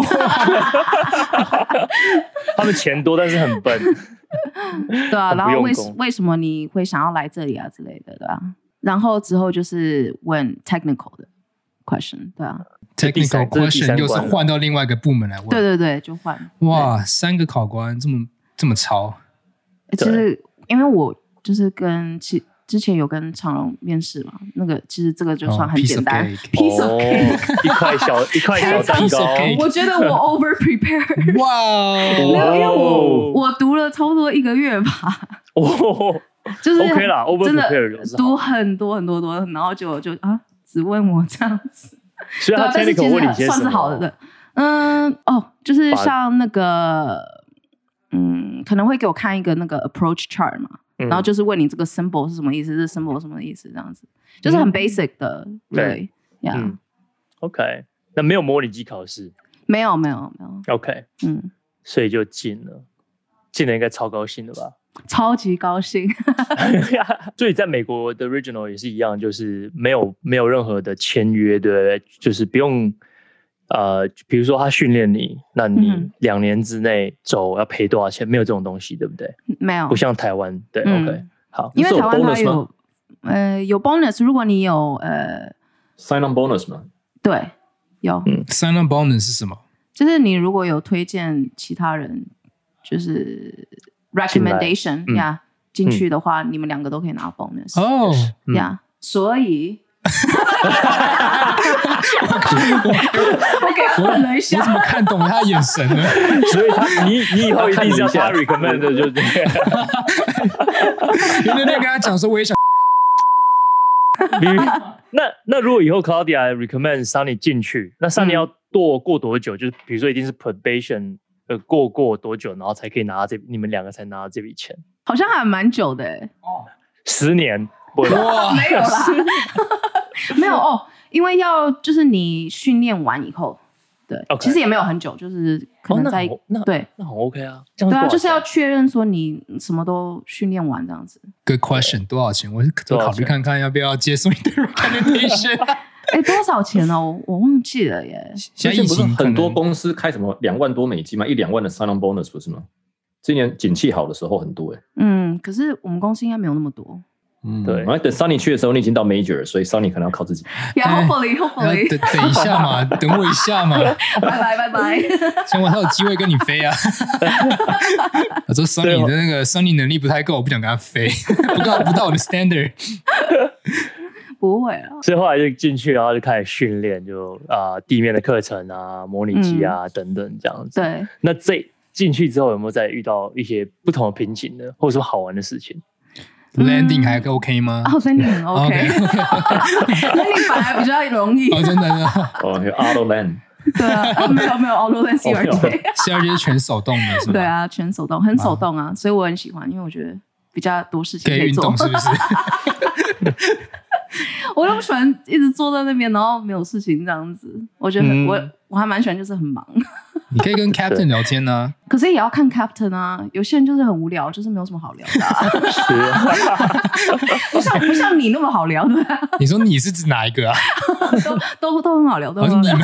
他們錢多，但是很笨。 對啊，然後為為什麼你會想要來這裡啊之類的，對吧、啊？然後之後就是問 technical 的， question， 對啊。 Technical question 又是換到另外一個部門來問。 對對對，就換。 哇，三個考官這麼這麼超。 其實因為我就是跟其之前有跟長榮面試嘛，那個其實這個就算很簡單。 Oh, piece of cake， 一塊小一塊小蛋糕。 我覺得我 over prepare。 哇， 沒有，因為我我讀了差不多一個月吧。 哦， 就是 OK 啦 ，over prepare 讀很多很多多，然後就就啊，只問我這樣子。 所以他 technical 問你些什麼？ 算是好的，對，嗯，哦，就是像那個，嗯，可能會給我看一個那個 approach chart 嘛，嗯、然後就是問你這個 symbol 是什麼意思，這個 symbol 是什麼意思，這樣子，就是很 basic 的，嗯、對，呀、yeah 嗯、，OK， 那沒有模擬機考試？ 沒有，沒有，沒有 ，OK， 嗯， 所以就進了，進了應該超高興的吧？ 超級高興， 所以在美國的 Regional 也是一樣，就是沒有沒有任何的簽約，對不對？就是不用呃，比如說他訓練你，那你兩年之內走要賠多少錢？沒有這種東西，對不對？ 沒有， 不像台灣，對、嗯、，OK， 好， 因為台灣它有呃有 bonus， 如果你有呃 sign on bonus 嗎？ 對，有、 嗯、sign on bonus 是什麼？ 就是你如果有推薦其他人，就是。recommendation 呀，進去的話，你們兩個都可以拿 bonus 哦呀，所以我給他問了一下， 我怎麼看懂他的眼神呢？ 所以他你你以後一定是要他 recommend 的，就這樣。 因為那跟他講說，我也想。 那那如果以後 Claudia recommend Sunny 進去，那 Sunny 要多過多久？就是比如說一定是 probation。呃，過過多久，然後才可以拿到這？你們兩個才拿到這筆錢？ 好像還蠻久的哎。 哦，十年？不哇，沒有啦，沒有哦，因為要就是你訓練完以後，對， okay. 其實也沒有很久，就是可能在、哦、那, 那對， 那很 OK 啊。 對啊，就是要確認說你什麼都訓練完這樣子。 Good question， 多少錢？我我考慮看看要不要接受你的 recommendation。 哎，多少錢呢、哦？我忘記了耶。 現在疫情很多公司開什麼兩萬多美金嘛，一兩萬的 sign on bonus 不是嗎？今年景氣好的時候很多哎。 嗯，可是我們公司應該沒有那麼多。 嗯，對。然後等 Sunny 去的時候，你已經到 major， 所以 Sunny 可能要靠自己。 Yeah, hopefully, hopefully。 等等一下嘛，等我一下嘛。 拜拜拜拜。 希望他有機會跟你飛啊。我說 Sunny 的那個 Sunny 能力不太夠，我不想跟他飛，不到不到我的 standard。 不會啊， 所以後來就進去，然後就開始訓練，就啊、呃、地面的課程啊、模擬機啊、嗯、等等這樣子。對，那這進去之後有沒有再遇到一些不同的瓶頸呢，或者說好玩的事情？ 嗯、Landing 還 OK 嗎？ 哦 ，Landing 很 OK，Landing 反而比較容易。 哦，真的呢。 哦，有 Auto Land。 對啊，啊，沒有沒有 Auto Land C R T。C R T 是全手動的，是吧？ 對啊，全手動，很手動啊，啊所以我很喜歡，因為我覺得比較多事情可以做，可以運動是不是？我都不喜歡一直坐在那邊，然後沒有事情這樣子。我覺得很、嗯、我我還蠻喜歡，就是很忙。 你可以跟 Captain 聊天呢、啊， 可是也要看 Captain 啊。有些人就是很無聊，就是沒有什麼好聊的、啊。不像不像你那麼好聊的。 你說你是指哪一個啊？ 都都都很好聊，都很好聊。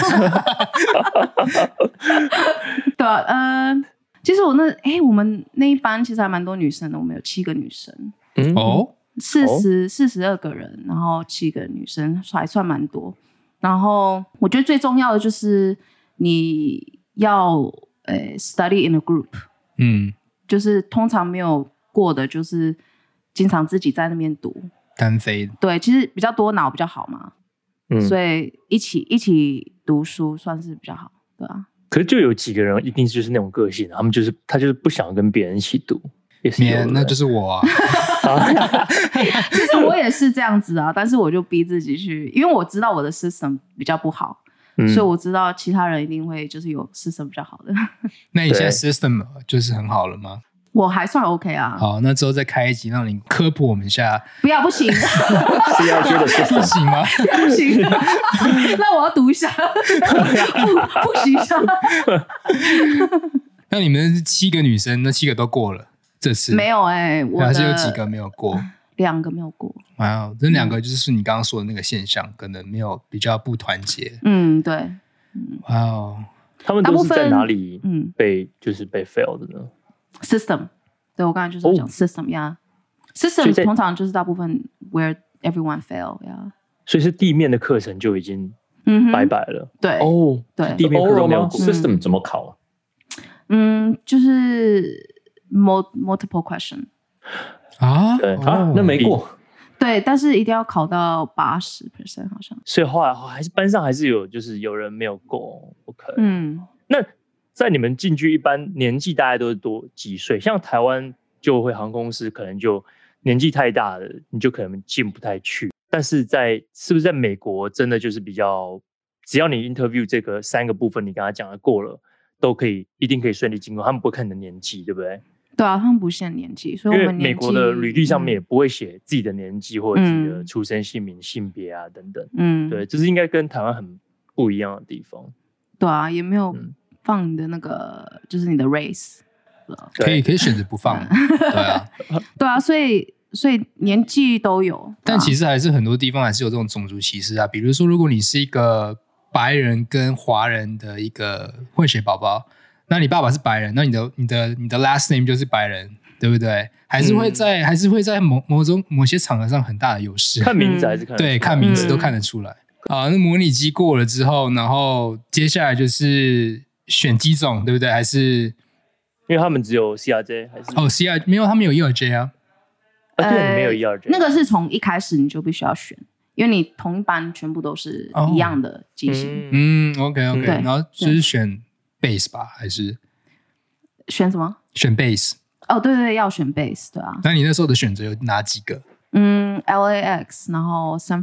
對啊，呃，其實我那哎、欸，我們那一班其實還蠻多女生的，我們有七個女生。 嗯哦。 四十四十二個人，然後七個女生，還算蠻多。然後我覺得最重要的就是你要呃 study in a group， 嗯，就是通常沒有過的，就是經常自己在那邊讀單飛。 對，其實比較多腦比較好嘛，嗯，所以一起一起讀書算是比較好，對啊。 可是就有幾個人一定就是那種個性，他們就是他就是不想跟別人一起讀。也是有， 那就是我啊。 其實我也是這樣子啊，但是我就逼自己去，因為我知道我的 system 比較不好，嗯、所以我知道其他人一定會就是有 system 比較好的。 那你現在 system 就是很好了嗎？ 我還算 OK 啊。 好，那之後再開一集讓你科普我們一下。 不要，不行。 是要覺得不行嗎？ 不行。那我要讀一下，複複習一下。 那你們七個女生，那七個都過了。這次沒有哎、欸，我還是有幾個沒有過， 兩個沒有過。 哇、wow, 這兩個就是你剛剛說的那個現象，嗯、可能沒有比較不團結。 嗯，對。 哇哦， 他們都是在哪裡嗯被就是被 fail 的呢 ？System， 對我剛才就是講 system 呀、oh. yeah. ，system 通常就是大部分 where everyone fail 呀、yeah. 所以是地面的課程就已經嗯， 拜拜了。 对， 哦， 对， 地面科都没有 system 怎麼考？ 嗯，就是 multiple question 啊， 對啊，那沒過。 對，但是一定要考到八十 percent 好像。 所以後來還是班上還是有，就是有人沒有過。OK， 嗯， 那在你們進去一般年紀大概都是多幾歲？像台灣就會航空公司可能就年紀太大了，你就可能進不太去。但是在是不是在美國真的就是比較，只要你 interview 這個三個部分你跟他講的過了，都可以一定可以順利進入，他們不會看你的年紀，對不對？ 對啊，他們不限年紀，所以我們年紀， 因為美國的履歷上面也不會寫自己的年紀或者自己的出生姓名、嗯、性別啊等等。嗯，對，這是應該跟台灣很不一樣的地方。 對啊，也沒有放你的那個，嗯、就是你的 race。 可以可以選擇不放。對啊， 對啊，所以所以年紀都有， 但其實還是很多地方還是有這種種族歧視啊。比如說，如果你是一個白人跟華人的一個混血寶寶。那你爸爸是白人，那你的你的你的 last name 就是白人，對不對？還是會在、嗯、還是會在某某種某些場合上很大的優勢。 看名字還是看得出來？對， 看名字都看得出來。啊、嗯，那模擬機過了之後，然後接下來就是選機種，對不對？還是因為他們只有 C R J 還是？ 哦 ，C R 沒有，他們有 E R J 啊。 啊，對，沒有 E R J。 那個是從一開始你就必須要選，因為你同一班全部都是一樣的機型。 哦、嗯 ，OK OK，然後就是選。base 吧，還是選什麼？ 選 base。 哦，對對對，要選 base， 對啊。 那你那時候的選擇有哪幾個？ 嗯 ，L A X， 然後 San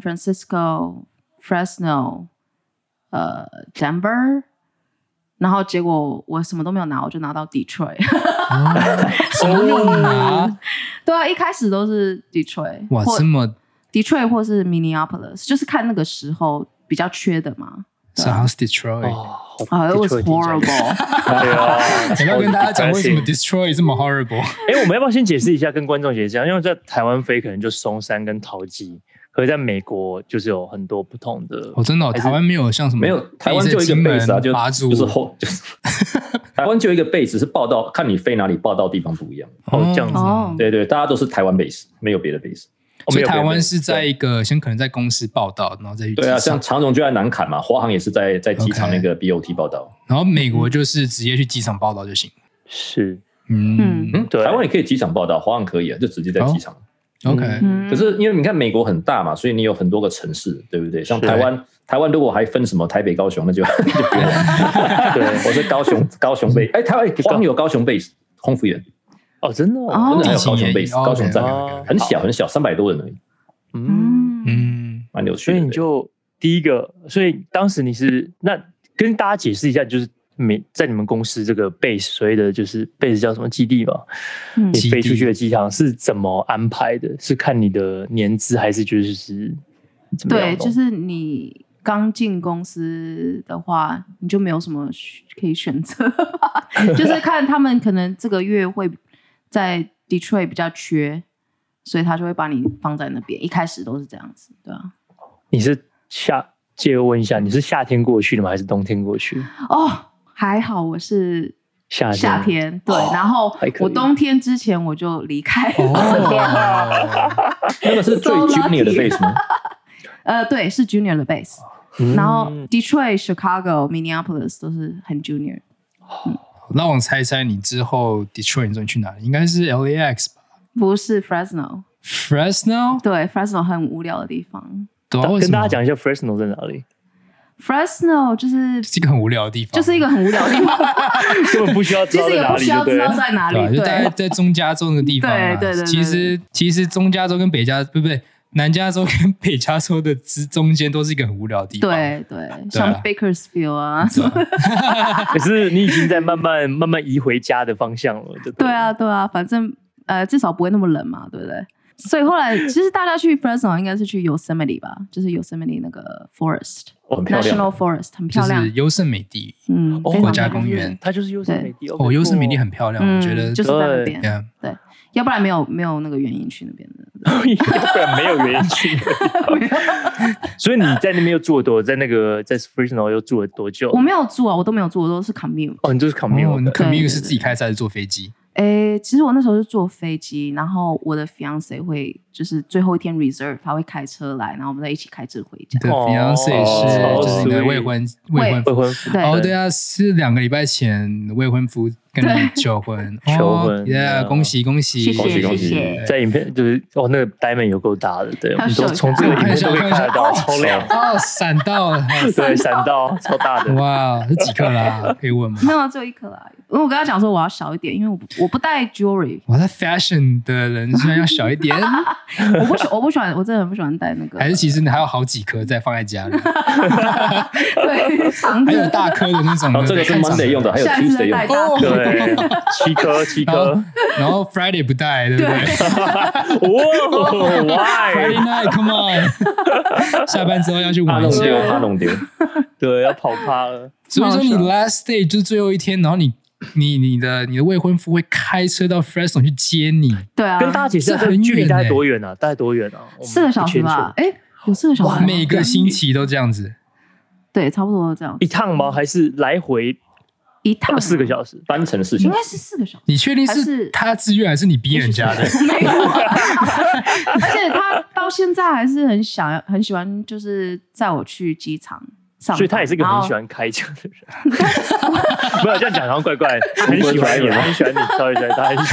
Francisco、Fresno， 呃 ，Denver， 然後結果我什麼都沒有拿，我就拿到 Detroit。 哦、什麼都沒有拿？ 對啊，一開始都是 Detroit。 哇，這麼 Detroit 或是 Minneapolis， 就是看那個時候比較缺的嘛。 So how's Detroit? Oh, it was horrible. 對啊， 我要跟大家講為什麼 Detroit 這麼 horrible。 哎、欸，我們要不要先解釋一下，跟觀眾解釋一下？因為在台灣飛可能就松山跟桃機，可是在美國就是有很多不同的。 哦，真的、哦，台灣沒有像什麼？ 沒有，台灣就一個 base 啊，就馬祖就是後，就是台灣就一個 base，是報到看你飛哪裡報到地方不一樣。 哦，這樣子。 哦， 對對，大家都是台灣 base， 沒有別的 base。 所以台灣是在一個先可能在公司報到，然後再去機場。 對啊，像長榮就在南崁嘛，華航也是在在機場那個 B O T 報到。 然後美國就是直接去機場報到就行。 是， 嗯嗯， 對，台灣也可以機場報到，華航可以啊，就直接在機場。 Oh, OK，、 嗯、可是因為你看美國很大嘛，所以你有很多個城市，對不對？像台灣，台灣如果還分什麼台北、高雄，那就就不用了。對，我是高雄，高雄 base，哎，台灣華航有高雄 base 空服員。 哦，真的、 哦， 真的還有高雄 base，、哦、高雄站、 哦、 很小很小，三百多人而已。 嗯嗯， 蠻有趣的。 所以你就第一個，所以當時你是那跟大家解釋一下，就是每在你們公司這個 base 所謂的就是 base 叫什麼基地嘛？嗯、你飛出去的機場是怎麼安排的？是看你的年資還是就是怎麼樣？ 對，就是你剛進公司的話，你就沒有什麼可以選擇，就是看他們可能這個月會在 Detroit 比較缺。所以他就會把你放在那邊，一開始都是這樣子，對啊。 你是夏，借問一下，你是夏天過去的嗎？還是冬天過去？ 哦，還好我是夏天，夏天對、哦。然後我冬天之前我就離開了。 哦、那個是最 junior 的 base 嗎？ 呃，對，是 junior 的 base、嗯。然後 Detroit、Chicago、Minneapolis 都是很 junior。嗯、 那我猜猜你之後 Detroit 你說你去哪裡？應該是 L A X 吧？ 不是 Fresno。Fresno？ 對 ，Fresno 很無聊的地方。 對啊， 跟大家講一下 Fresno 在哪裡。 Fresno 就是是一個很無聊的地方， 就是一個很無聊的地方， 根本不需要知道在哪裡， 其實也不需要知道在哪裡，對， 對就大概在中加州那個地方、啊。 對對對，對。 其實其實中加州跟北加，不不對，南加州跟北加州的之中間都是一個很無聊的地方。 對對，對，像 Bakersfield 啊。 啊可是你已經在慢慢慢慢移回家的方向了，對， 對啊對啊，反正。呃，至少不會那麼冷嘛，對不對？所以後來其實大家去 Fresno 應該是去 Yosemite 吧，就是 Yosemite 那個 Forest、oh, National Forest 很漂亮， 就是優勝美地， 嗯， 國家公園， 它就是優勝美地。 哦，優勝美地很漂亮， 嗯、 我覺得就是在那邊， 對， 對，要不然沒有沒有那個原因去那邊的， 要不然沒有原因去那邊。所以你在那邊又住了多，在那個在 Fresno 又住了多久？ 我沒有住啊，我都沒有住，我都是 commute。 哦，你就是 commute，、哦、 你 commute 是自己開車還是坐飛機？ 誒，其實我那時候是坐飛機，然後我的 fiance 會就是最後一天 reserve， 他會開車來，然後我們再一起開車回家。 對 fiance 是就是你的未婚未婚未婚夫。 哦，對啊，是兩個禮拜前未婚夫跟你求婚， 求婚 ，yeah，恭喜恭喜， 恭喜恭喜！ 在影片就是哦，那個 diamond 有夠大的，對，我們都從這個影片都可以看得到，超亮哦，閃到了， 對，閃到超大的， 哇，是幾克拉？可以問嗎？ 沒有，只有一克拉。因為我跟他講說我要小一點，因為我不我不戴 jewelry。 哇，他 fashion 的人居然要小一點， 我不喜我不喜歡，我真的很不喜歡戴那個。 還是其實你還有好幾顆在放在家裡？ 對， 還有大顆的那種。 然後這個是 Monday 用的，還有 Tuesday 用的。 哦， 對，七顆七顆。 然後 Friday 不戴，對不對？ 哦 ，Why？Friday night，come on！ 下班之後要去玩一下， 怕弄丟， 對，要跑趴了。 所以說你 last day 就是最後一天，然後你。你你的你的未婚夫會開車到 Fresno 去接你， 對啊， 跟大家解釋這距離大概多遠啊？大概多遠啊？ 四個小時吧？哎，有四個小時， 每個星期都這樣子？ 對，差不多這樣。 一趟嗎？還是來回一趟四個小時？ 單程四小時？ 應該是四個小時。 你確定是他自願還是你逼人家的？ 沒有，而且他到現在還是很想要、很喜歡，就是載我去機場。 所以他也是一個很喜歡開車的人，沒有這樣講，好像怪怪。他很喜歡你，很喜歡你，sorry sorry，他很喜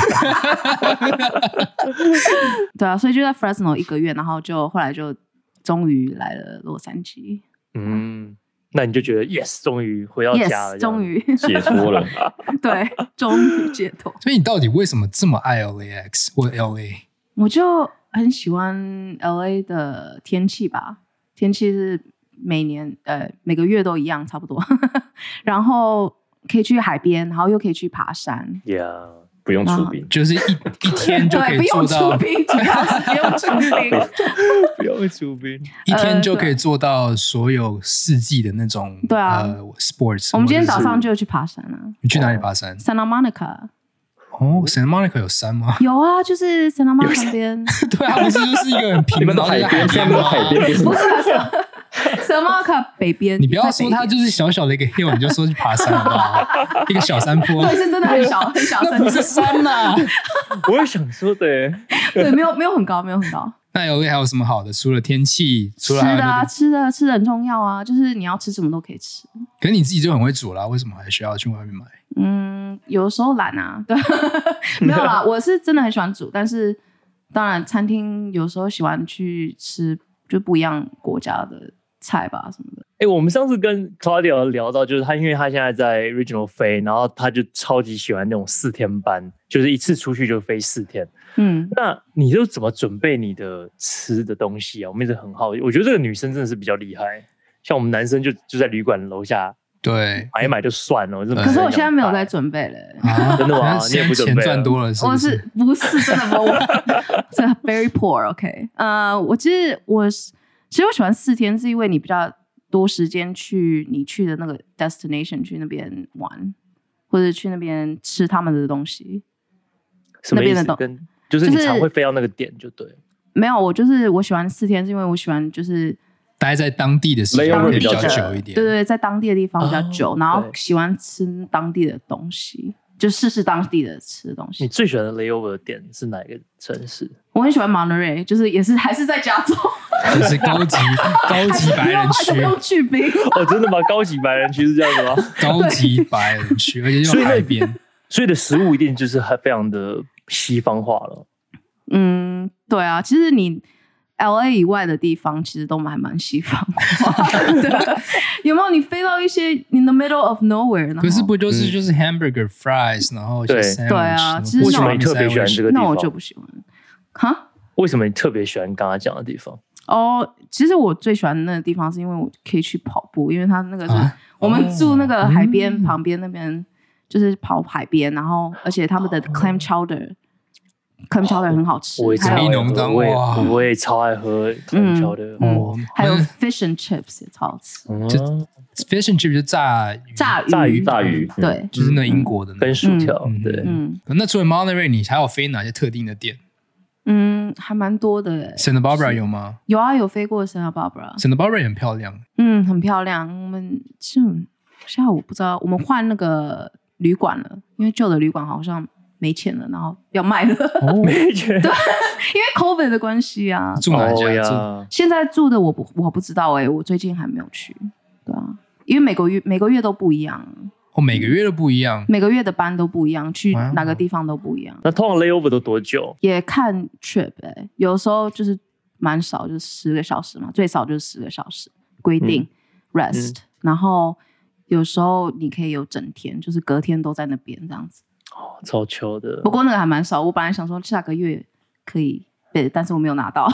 歡。 對啊，所以就在 Fresno 一個月，然後就後來就終於來了洛杉磯。 嗯，那你就覺得 yes， 終於回到家了， yes， 終於解脫了。 對，終於解脫。 所以你到底為什麼這麼愛 L A X 或 L A？ 我就很喜歡 L A 的天氣吧，天氣是。每年呃每個月都一樣差不多，然後可以去海邊，然後又可以去爬山。 Yeah， 不用出兵， 就是一一天就可以做到。 不用出兵，主要是不用出兵， 不用出兵， 一天就可以做到所有四季的那種。對啊，呃 ，sports。 我們今天早上就去爬山了。 你去哪裡爬山 ？Santa Monica。 哦 ，Santa Monica 有山嗎？ 有啊，就是 Santa Monica 旁邊。 對啊，不是就是一個很平的海邊， 下面有海邊， 不是不是。Santa Monica 北邊， 你不要說它就是小小的一個 hill， 你就說去爬山好不好？一個小山坡， 對，是真的很小很小， 那不是山吶。 我也想說的， 對，沒有沒有很高，沒有很高。 那 L A 還有什麼好的？除了天氣，除了吃的啊，吃的吃的很重要啊，就是你要吃什麼都可以吃。 可是你自己就很會煮啦，為什麼還需要去外面買？ 嗯，有的時候懶啊，對，沒有啦，我是真的很喜歡煮，但是當然餐廳有時候喜歡去吃就不一樣國家的菜吧什麼的。 哎、欸，我們上次跟 Claudia 聊到，就是他因為他現在在 Regional 飛，然後他就超級喜歡那種四天班，就是一次出去就飛四天。嗯，那你就怎麼準備你的吃的東西啊？我們一直很好奇，我覺得這個女生真的是比較厲害，像我們男生就就在旅館樓下。 對， 買一買就算了。 可是我現在沒有在準備了、欸啊， 真的嗎？你也不準備了？ 錢賺多了是不是？ 我是不是真的我真的 very poor。OK， 呃，我其實我其實我喜歡四天，是因為你比較多時間去你去的那個 destination 去那邊玩，或者去那邊吃他們的東西。 什麼意思？那邊的東跟就是你常會飛到那個點就對、就是。 沒有，我就是我喜歡四天，是因為我喜歡就是。 待在當地的時間會比較久一點， 對對，在當地的地方比較久，哦、然後喜歡吃當地的東西，就試試當地的吃的東西。 你最喜歡的 layover 的點是哪一個城市？ 我很喜歡 Monterey， 就是也是還是在加州， 就是高級高級白人區， 不用去冰哦，真的嗎？高級白人區是這樣子嗎？ 高級白人區，而且又海邊， 所以的食物一定就是還非常的西方化了。 嗯，對啊，其實你。L A 以外的地方其實都還蠻西方化的，有沒有？你飛到一些 in the middle of nowhere， 可是不就是就是 hamburger fries，、嗯、然後一些 sandwich， 對啊，其實為什麼你特別喜歡這個地方？ 那我就不喜歡。哈？ 為什麼你特別喜歡剛剛講的地方？ 哦，其實我最喜歡的那個地方是因為我可以去跑步，因為它那個是、啊、我們住那個海邊、哦、旁邊那邊，就是跑海邊，然後而且他們的 clam chowder。clam chowder 很好吃， 我也還有我也我也超愛喝 clam chowder，、嗯哦嗯、還有 fish and chips 也超好吃。 嗯、就 fish and chips 就炸魚炸魚炸魚炸魚， 對、 嗯，就是那英國的、那個、 跟薯條、嗯，對。 嗯， 那除了 Monterey， 你還有飛哪些特定的店？ 嗯，還蠻多的。 Santa Barbara 有嗎？ 有啊，有飛過 Santa Barbara。 Santa Barbara 也很漂亮， 嗯，很漂亮。我們就下午不知道，我們換那個旅館了，因為舊的旅館好像。 沒錢了，然後要賣了。 哦、沒錢， 對，因為 COVID 的關係啊。 住哪家？ 哦、 現在住的我不我不知道哎、欸，我最近還沒有去。對啊，因為每個月每個月都不一樣。 哦，每個月都不一樣， 每個月的班都不一樣，去哪個地方都不一樣。 那通常 layover 都多久？ 也看 trip 哎、欸，有時候就是蠻少，就是十個小時嘛，最少就是十個小時規定、嗯、rest、嗯。然後有時候你可以有整天，就是隔天都在那邊這樣子。 哦，超糗的。不過那個還蠻少，我本來想說下個月可以 bid， 但是我沒有拿到。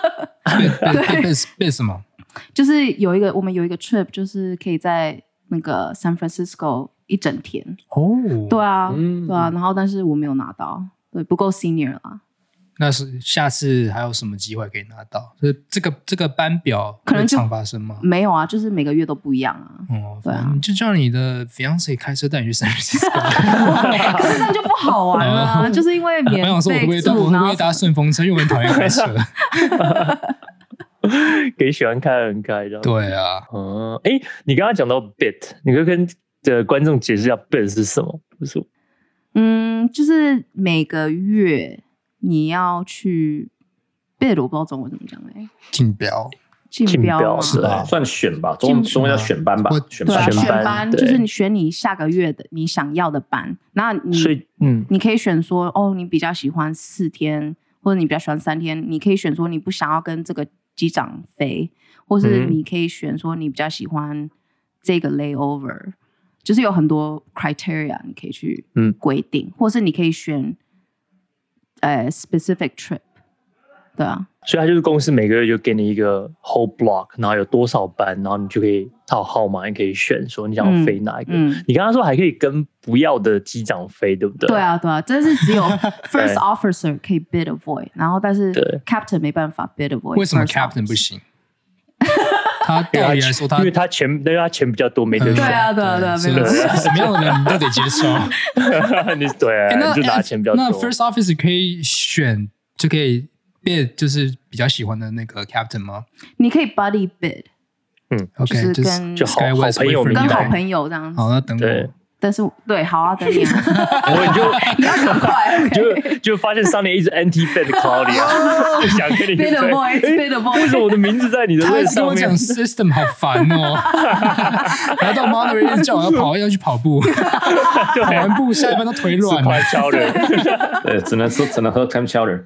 bid bid bid 什麼？ 就是有一個我們有一個 trip， 就是可以在那個 San Francisco 一整天。 哦， 對啊， 嗯、 對啊，然後但是我沒有拿到，對，不夠 senior 啦。那是下次還有什麼機會可以拿到？就是這個這個班表可能常發生嗎？ 沒有啊，就是每個月都不一樣啊。 哦， 對啊， 你就叫你的 fiance 開車帶你去 San Francisco。 可是這樣就不好玩了、啊，就是因為免費住。我想說，我會不會搭我會不會搭順風車？因為我很討厭開車。 給喜歡開的人開的。 對啊， 嗯，哎，你剛剛講到 bid， 你可以跟的觀眾解釋一下 bid 是什麼？不是？ 嗯，就是每個月。你要去 bid， 我不知道中文怎麼講哎， 競標， 競標是吧？算選吧，中中文叫選班吧，選班， 選班就是你選你下個月的你想要的班，那你所以嗯， 你可以選說哦，你比較喜歡四天，或者你比較喜歡三天，你可以選說你不想要跟這個機長飛，或是你可以選說你比較喜歡這個 layover， 就是有很多 criteria 你可以去規定，嗯、或是你可以選。呃、uh, ，specific trip， 對啊， 所以他就是公司每個月就給你一個 whole block， 然後有多少班，然後你就可以套號碼，你可以選說你想要飛哪一個。嗯嗯、你剛剛說還可以跟不要的機長飛，對不對？ 對啊，對啊，這是只有 first officer 可以 bid avoid， 然後但是 captain 沒辦法 bid avoid。 為什麼 captain 不行？他道理來說他， 因為他錢，因為他錢比較多，沒得選。 對啊，對啊，對啊，沒有什麼樣的人你都得接受。 你對、啊，你就拿錢比較多。 那 first officer 可以選，就可以 bid， 就是比較喜歡的那個 captain 嗎？ 你可以 buddy bid， 嗯 ，OK， 就是跟就好好朋友， 跟好朋友這樣子。 好，那等我。 但是對，好啊，等你啊， 然後你就你要很快， okay、 就就發現Sunny一直 anti bid Claudia， 不想跟你 bid avoid，bid avoid， 為什麼我的名字在你的位上面？ 他跟我講 system 好煩哦，然後到 Monterey 叫我要跑，要去跑步，跑完步下一班都腿軟了。 Chowder， 對，只能說只能喝 Clam Chowder。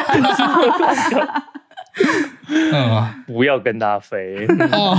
嗯， 不要跟他飛哦。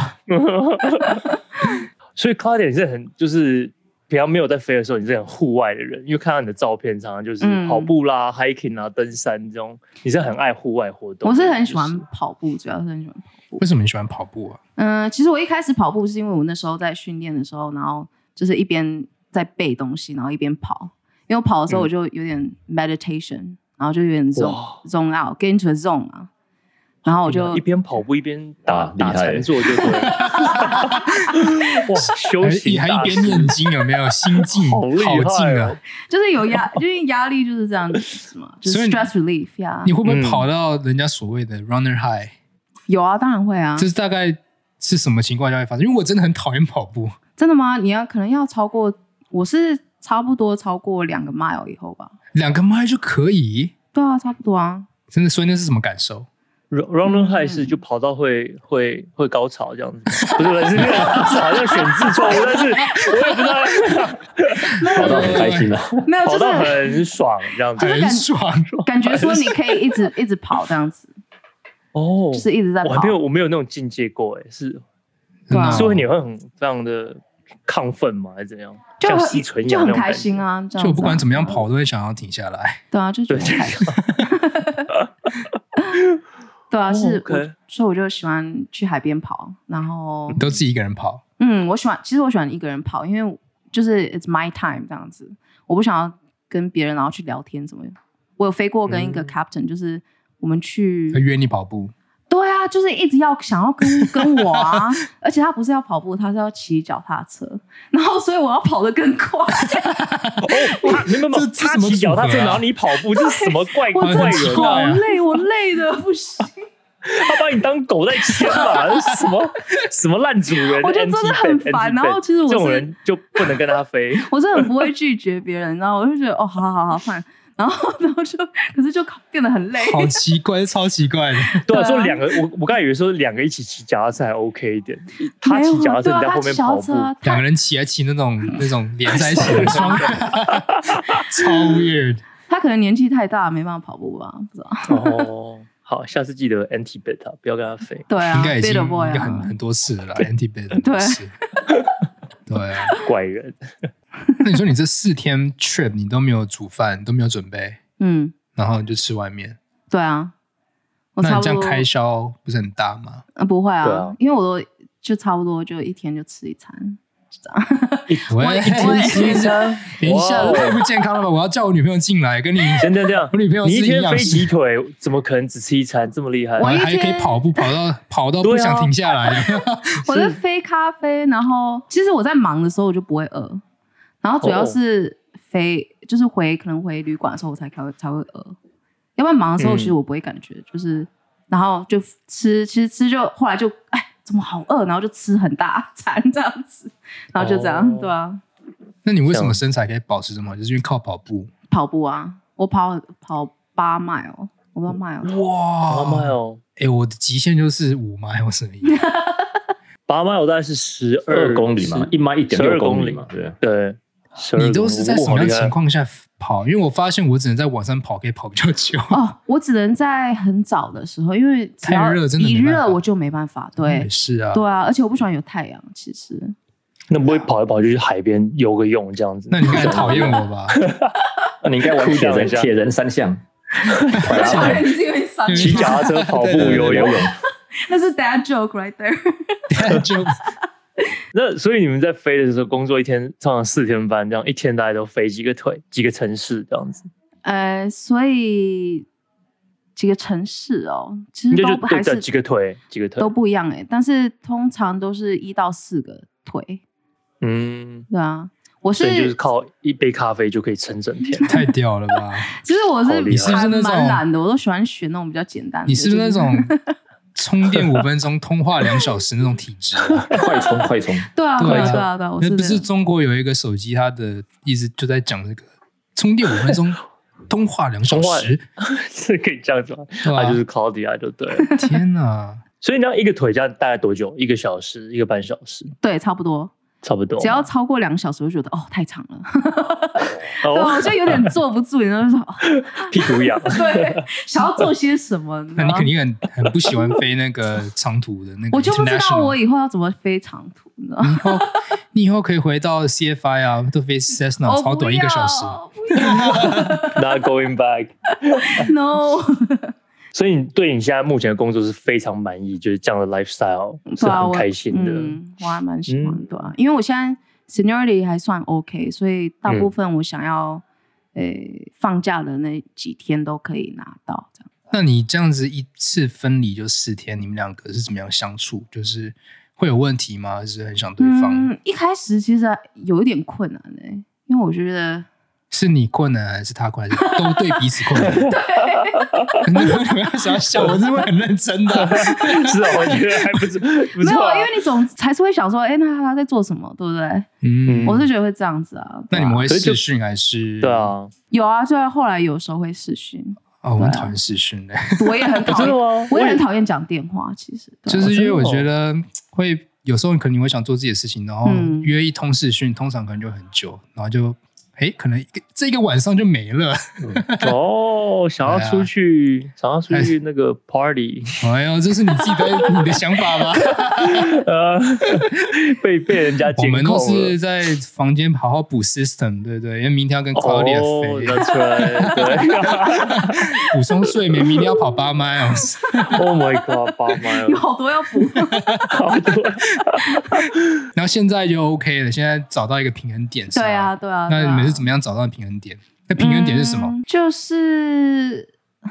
所以 Claudia 你是很就是。平常沒有在飛的時候，你是很戶外的人，因為看到你的照片，常常就是跑步啦、嗯、hiking 啊、登山這種，你是很愛戶外活動。 我是很喜歡跑步，主要是很喜歡跑步。 為什麼你喜歡跑步啊？嗯、 呃，其實我一開始跑步是因為我那時候在訓練的時候，然後就是一邊在背東西，然後一邊跑。因為我跑的時候我就有點 meditation，、嗯、然後就有點 zone zone out，get into a zone 啊。然後我就一邊跑步一邊打打禪坐，就對了。哇，休息還一邊念經，有沒有心境好靜啊？ 就是有壓，因為壓力就是這樣子嘛，就是 stress relief 呀。 你會不會跑到人家所謂的 runner high？、嗯、 有啊，當然會啊。 這是大概是什麼情況下會發生？因為我真的很討厭跑步。 真的嗎？你要可能要超過，我是差不多超過兩個 mile 以後吧。 兩個 mile 就可以？ 對啊，差不多啊。 真的，所以那是什麼感受 ？Runner high 是就跑到會會會高潮這樣子，不是不是，好像選字錯誤，但是我也不知道。 跑到很開心啊， 沒有， 跑到很爽這樣子， 很爽， 感覺說你可以一直一直跑這樣子。 哦， 就是一直在跑。 我還沒有我沒有那種境界過哎，是，所以你會很非常的亢奮嗎？還是怎樣？ 就吸純氧就很開心啊！ 就我不管怎麼樣跑都會想要停下來。 對啊，就覺得很開心。對啊，是，我所以我就喜歡去海邊跑，然後你都自己一個人跑。 嗯，我喜歡，其實我喜歡一個人跑，因為就是 it's my time 這樣子，我不想要跟別人然後去聊天什麼的。我有飛過跟一個 captain，、嗯、就是我們去他約你跑步。 對啊，就是一直要想要跟跟我啊，而且他不是要跑步，他是要騎腳踏車，然後所以我要跑得更快。 哦，他你們他騎腳踏車，然後你跑步，這是什麼怪怪人啊？ 好累，我累的不行。 他把你當狗在牽吧？什麼什麼爛主人？ 我覺得真的很煩。然後其實我是這種人就不能跟他飛。 我是很不會拒絕別人，然後我就覺得哦，好好好好煩。然後然後就可是就變得很累， 好奇怪，超奇怪的。 對啊，說兩個，我我剛才以為說兩個一起騎腳踏車還 OK 一點，他騎腳踏車你在後面跑步， 兩個人騎還騎那種那種連在一起的雙人，超 weird。 他可能年紀太大，沒辦法跑步吧，不知道。 哦，好，下次記得 anti beta， 不要跟他飛。 對啊， 應該已經應該很很多次了啦 ，anti beta。 對， 對啊， 怪人。 那你說你這四天 trip 你都沒有煮飯，都沒有準備， 嗯， 然後你就吃外面。 對啊，我那你這樣開銷不是很大嗎？ 呃、不會啊， 啊因為我都就差不多就一天就吃一餐。 我一天吃一餐，等一下太不健康了吧？我要叫我女朋友進來跟你。 真的這樣？ 我女朋友是你一天飛幾幾腿？怎麼可能只吃一餐？這麼厲害？ 我還可以跑步，跑到跑到不想停下來。啊、 我在飛咖啡，然後其實我在忙的時候我就不會餓，然後主要是飛、oh. 就是回可能回旅館的時候我才才會才會餓，要不然忙的時候其實我不會感覺，嗯、就是然後就吃，其實吃就後來就哎。怎麼好餓，然後就吃很大餐這樣子，然後就這樣，哦、對啊。 那你為什麼身材可以保持這麼好？就是因為靠跑步。跑步啊，我跑跑八邁哦，我不知道邁哦。 哇， 八邁哦， 哎，我的極限就是五邁，我是而已。 八邁我大概是十二公里嘛，一邁一點六公里嘛，對對。 你都是在什麼樣情況下跑？因為我發現我只能在晚上跑，可以跑比較久。 哦，我只能在很早的時候，因為只要太熱，真的一熱我就沒辦法。對， 是啊， 對啊，而且我不喜歡有太陽。其實， 那不會跑一跑就去海邊游個泳這樣子？ 那你應該討厭我吧？ 那你應該玩鐵人鐵人三項， 騎腳踏車、跑步、游泳。 那是 dad joke right there。 dad joke。 那所以你們在飛的時候，工作一天通常四天班，這樣一天大概都飛幾個腿、幾個城市這樣子？ 呃，所以幾個城市哦，其實都還是幾個腿、幾個腿都不一樣哎，但是通常都是一到四個腿。 嗯， 對啊，我是就是靠一杯咖啡就可以撐整天， 太屌了吧？ 其實我是你是不是那種蠻懶的，我都喜歡選那種比較簡單的。 你是不是那種？充電五分鐘，通話兩小時那種體質， 快充快充。 對啊，對啊，對啊，對啊。 那不是中國有一個手機，它的意思就在講這個充電五分鐘，通話兩小時， 是可以這樣子嗎？它就是 Claudia 就對了。 天哪！ 所以你要一個腿這樣大概多久？一個小時，一個半小時？ 對，差不多。 差不多， 只要超過兩個小時，我就覺得哦太長了，對，我就有點坐不住，然後就說、哦、 屁股癢， 對，想要做些什麼？ 那你肯定很很不喜歡飛那個長途的那個， 我就不知道我以後要怎麼飛長途，你知道嗎？ 你以後你以後可以回到 C F I 啊，都飛 Cessna 超短一個小時 ，Not going back，No 。所以你對你現在目前的工作是非常滿意，就是這樣的 lifestyle 是很開心的。 嗯，我還蠻喜歡的、啊，因為我現在 seniority 還算 OK， 所以大部分我想要、嗯欸、放假的那幾天都可以拿到這樣。 那你這樣子一次分離就四天，你們兩個是怎麼樣相處？就是會有問題嗎？還是很想對方？ 嗯，一開始其實有一點困難的、欸，因為我覺得。 是你困難還是他困難？還是都對彼此困難。對，你為什麼要笑？我是會很認真的。 是啊，我覺得還不錯。不沒有，因為你總還是會想說，哎、欸，那他在做什麼，對不對？嗯，我是覺得會這樣子啊。啊那你們會視訊還是？對啊， 有啊，就後來有時候會視訊。 哦，我很討厭視訊的。 我也很討厭，我也很討厭講電話。其實， 就是因為我覺得會有時候可能你會想做自己的事情，然後約一通視訊，通常可能就很久，然後就。哎，可能一個這一個晚上就沒了。 嗯、哦，想要出去，啊、想要出去那個 party。 哎呦，這是你自己的你的想法嗎？ 呃，被被人家監控了。 我們都是在房間好好補 system， 對不對？因為明天要跟 Claudia 飛， 哦、that's right，對， 補充睡眠，明天要跑八 miles。 Oh my god， 八 miles， 有好多要補， 好多。 然後現在就 OK 了，現在找到一個平衡點。 對啊，對啊。 那你們是怎麼樣找到平衡點？那平衡點是什麼？ 嗯、就是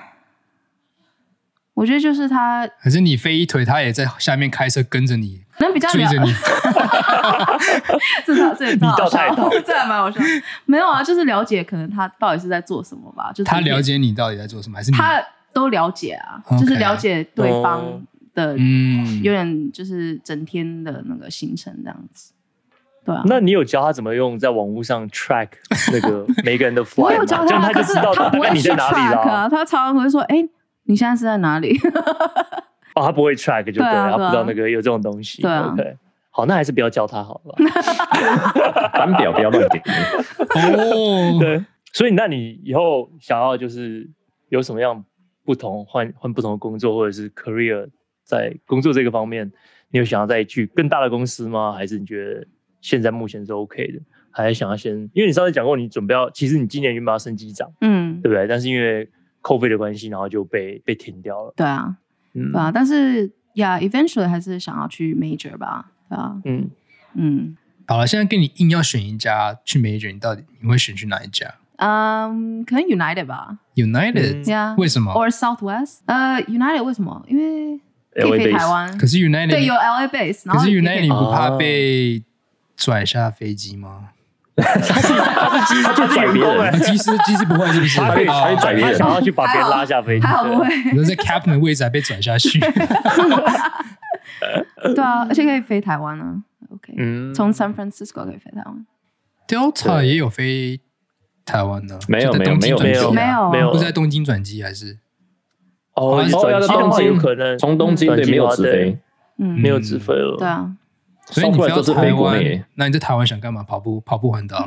我覺得就是他， 可是你飛一腿，他也在下面開車跟着你， 能比較追着你。 這這這你倒太倒， 這還蠻好笑。沒有啊，就是了解可能他到底是在做什麼吧。就是他了解你到底在做什麼，還是你他都了解啊， Okay. 就是了解對方的， 嗯， 有點就是整天的那個行程這樣子。對啊， 那你有教他怎麼用在網絡上 track 那個每個人的 flight 嗎？ 我有教他， 這樣他就知道大概你在哪裡了、啊。 他常常會說：“哎、欸，你現在是在哪裡？” 哦，他不會 track 就對了，對啊、他不知道那個有這種東西。 對啊 ，OK， 好，那還是不要教他好了。 班表不要亂點。 哦， 對，所以那你以後想要就是有什麼樣不同換換不同的工作，或者是 career 在工作這個方面，你有想要再去更大的公司嗎？還是你覺得？現在目前是 OK 的，還是想要先？因為你上次講過，你準備要，其實你今年原本要升機長，嗯，對不對？但是因為 COVID 的關係，然後就被被停掉了。 對啊，嗯、對啊，但是呀、yeah, ，eventually 還是想要去 major 吧，對啊，嗯嗯。好了，現在跟你硬要選一家去 major， 你到底你會選去哪一家？ 嗯，可能 United 吧。 United， yeah, 為什麼 ？Or Southwest？呃、uh, ，United 為什麼？因為可以飛台灣。 可是 United 對有 L A base， 可是 United 你不怕被？拽下飛機嗎？ 他是他去拽別人， 機師機師不會是不是？ 他可以他可以拽別人， 他想要去把別人拉下飛機， 還好不會。 你說在 captain 的位置還被拽下去？ 對啊，而且可以飛台灣啊。OK， 嗯，從 San Francisco 可以飛台灣。 Delta 也有飛台灣的， 沒有沒有沒有沒有沒有沒有， 不是在東京轉機還是？ 哦，轉機的話有可能從東京對沒有直飛， 嗯，沒有直飛了。 對啊。 所以你飛到台灣，那你在台灣想幹嘛？跑步跑步環島？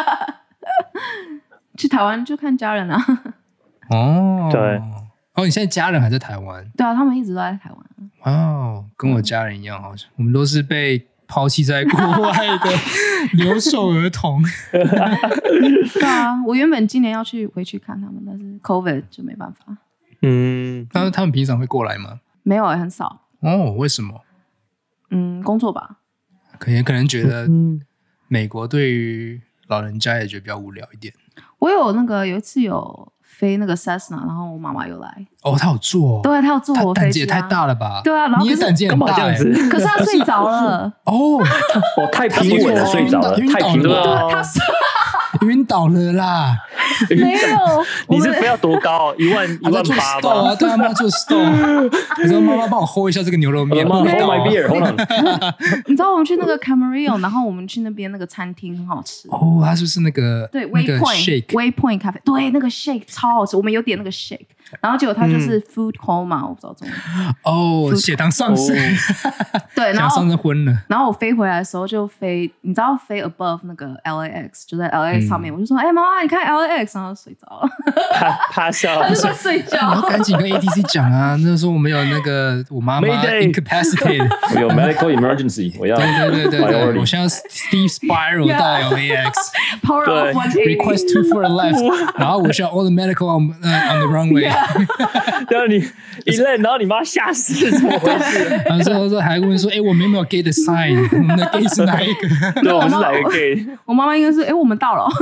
去台灣就看家人啊。 哦， 對。 哦，你現在家人還在台灣？ 對啊，他們一直都在台灣。 哦，跟我家人一樣，好像我們都是被拋棄在國外的留守兒童。 對啊，我原本今年要去回去看他們，但是 COVID 就沒辦法。 嗯，那他們平常會過來嗎？ 沒有，很少。 哦，為什麼？ 嗯，工作吧。 可能可能覺得美國對於老人家也覺得比較無聊一點。 我有那個有一次有飛那個 Cessna， 然後我媽媽有來。 哦，她有坐、哦。 對，她有坐我飛機、啊。膽子也太大了吧？ 對啊，然後你也膽子很大、欸， 可是她睡着了。 哦， 哦，太平穩了，睡着了，太平穩了。 她睡。 暈倒了啦！ 沒有， 你是飛要多高？一萬一萬八吧？ 啊，對啊，媽做 stone。你說媽媽幫我 hold 一下這個牛肉麵， 媽 hold my beer，hold on。 你知道我們去那個 Camarillo， 然後我們去那邊那個餐廳很好吃。 哦，它是不是那個對那個 Waypoint 咖啡？對，那個 shake 超好吃，我們有點那個 shake， 然後結果它就是 food coma，我不知道中文。 哦，血糖上升。 對，然後上升昏了。 然後我飛回來的時候就飛，你知道飛 above 那個 L A X， 就在 L A X 上面，我就說，哎，媽媽，你看 L A X， 然後睡着了。 趴下， 他就在睡覺。 然後趕緊跟 A T C 講啊，那時候我們有那個我媽媽 incapacitated， 我有 medical emergency， 我要對對對對對，我現在 Steve spiral 到 L A X，power off one eighty request two for a left， 然後我需要 all the medical on on the runway， 然後你一愣，然後你媽嚇死，怎麼回事？ 然後說說還問說，哎，我們有沒有 gate sign？ 我們的 gate 是哪一個？ 對，我們是哪一個 gate？ 我媽媽應該是，哎，我們到了。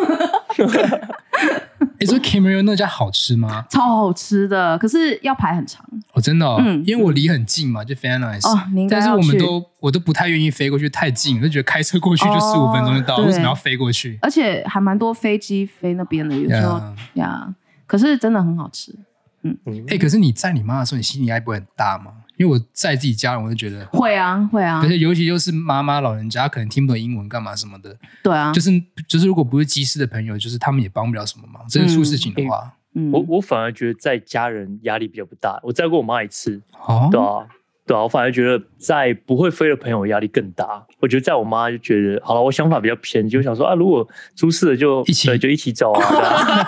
你說 Camarillo 那家好吃嗎？ 超好吃的，可是要排很長。 哦，真的哦，嗯，因為我離很近嘛，就 Van Nuys。哦，你應該要去。但是我們都我都不太願意飛過去，太近，我就覺得開車過去就十五分鐘就到，為什麼要飛過去？ 而且還蠻多飛機飛那邊的，有時候呀，可是真的很好吃。嗯， 哎，可是你載你媽的時候，你心理壓力不會很大嗎？因為我載自己家人，我就覺得會啊會啊， 而且尤其又是媽媽老人家，可能聽不懂英文幹嘛什麼的。 對啊， 就是就是如果不是機師的朋友，就是他們也幫不了什麼忙。真的出事情的話， 嗯，我我反而覺得載家人壓力比較不大。我載過我媽一次， 哦， 對啊對啊，我反而覺得載不會飛的朋友壓力更大。我覺得載我媽就覺得好了，我想法比較偏，就想說啊，如果出事了就一起對就一起走啊。對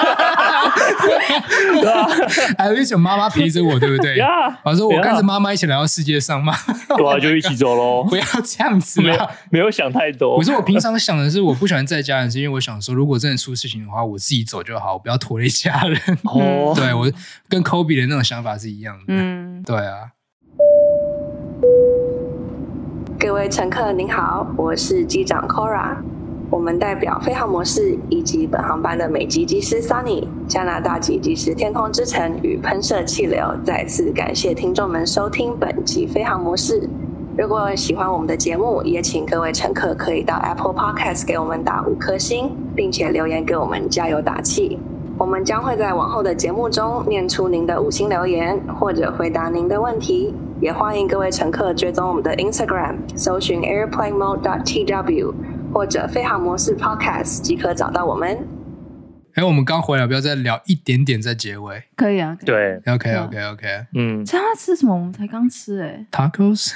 啊， 還有一種媽媽陪着我，對不對？ 呀， 我說我跟着媽媽一起來到世界上嘛， 對啊，就一起走咯。 不要這樣子啦， 沒有沒有想太多。 我說我平常想的是，我不喜歡載家人，是因為我想說，如果真的出事情的話，我自己走就好，我不要拖累家人。哦，對，我跟 Kobe 的那種想法是一樣的。嗯，對啊。 各位乘客您好，我是機長 Cora。我們代表飛航模式以及本航班的美籍機師 Sunny、加拿大籍機師天空之城與噴射氣流，再次感謝聽眾們收聽本集飛航模式。如果喜歡我們的節目，也請各位乘客可以到 Apple Podcast 給我們打五顆星，並且留言給我們加油打氣。 我們將會在往後的節目中念出您的五星留言，或者回答您的問題。也歡迎各位乘客追蹤我們的 Instagram， 搜尋 airplane mode dot t w 或者飛航模式 Podcast 即可找到我們。 哎，我們剛回來，不要再聊一點點在結尾。 可以啊，可以對 ，OK OK OK， 嗯， 这他吃什麼？我們才剛吃哎、欸、 ，Tacos。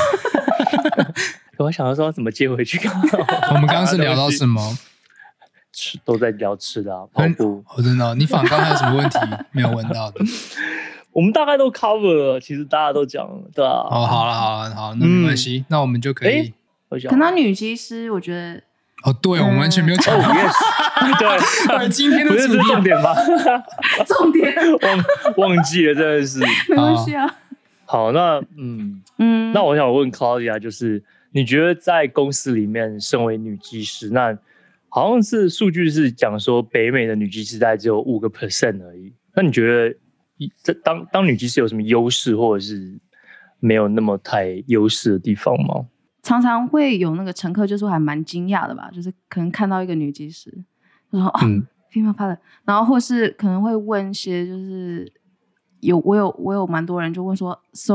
我想說怎麼接回去。 我們剛剛是聊到什麼？ 吃都在聊吃的、啊，跑步。 哦，真的、哦，你訪剛還有什麼問題沒有問到的？ 我們大概都 cover 了，其實大家都講了，對啊。 哦，好了好了好，那沒關係、嗯，那我們就可以。 可能女機師，我覺得。 哦，對，嗯、我們完全沒有講到。 對， 對，今天的不是重點吧？ 重點忘忘記了，真的是。 沒關係啊。 好，那嗯嗯，那我想問 Claudia， 就是你覺得在公司裡面，身為女機師，那好像是數據是講說，北美的女機師大概只有五個 percent 而已。那你覺得，這當當女機師有什麼優勢，或者是沒有那麼太優勢的地方嗎？ 常常會有那個乘客就說還蠻驚訝的吧，就是可能看到一個女機師，就說哦、嗯、female pilot， 然後或是可能會問一些就是有我有我有蠻多人就問說 ，so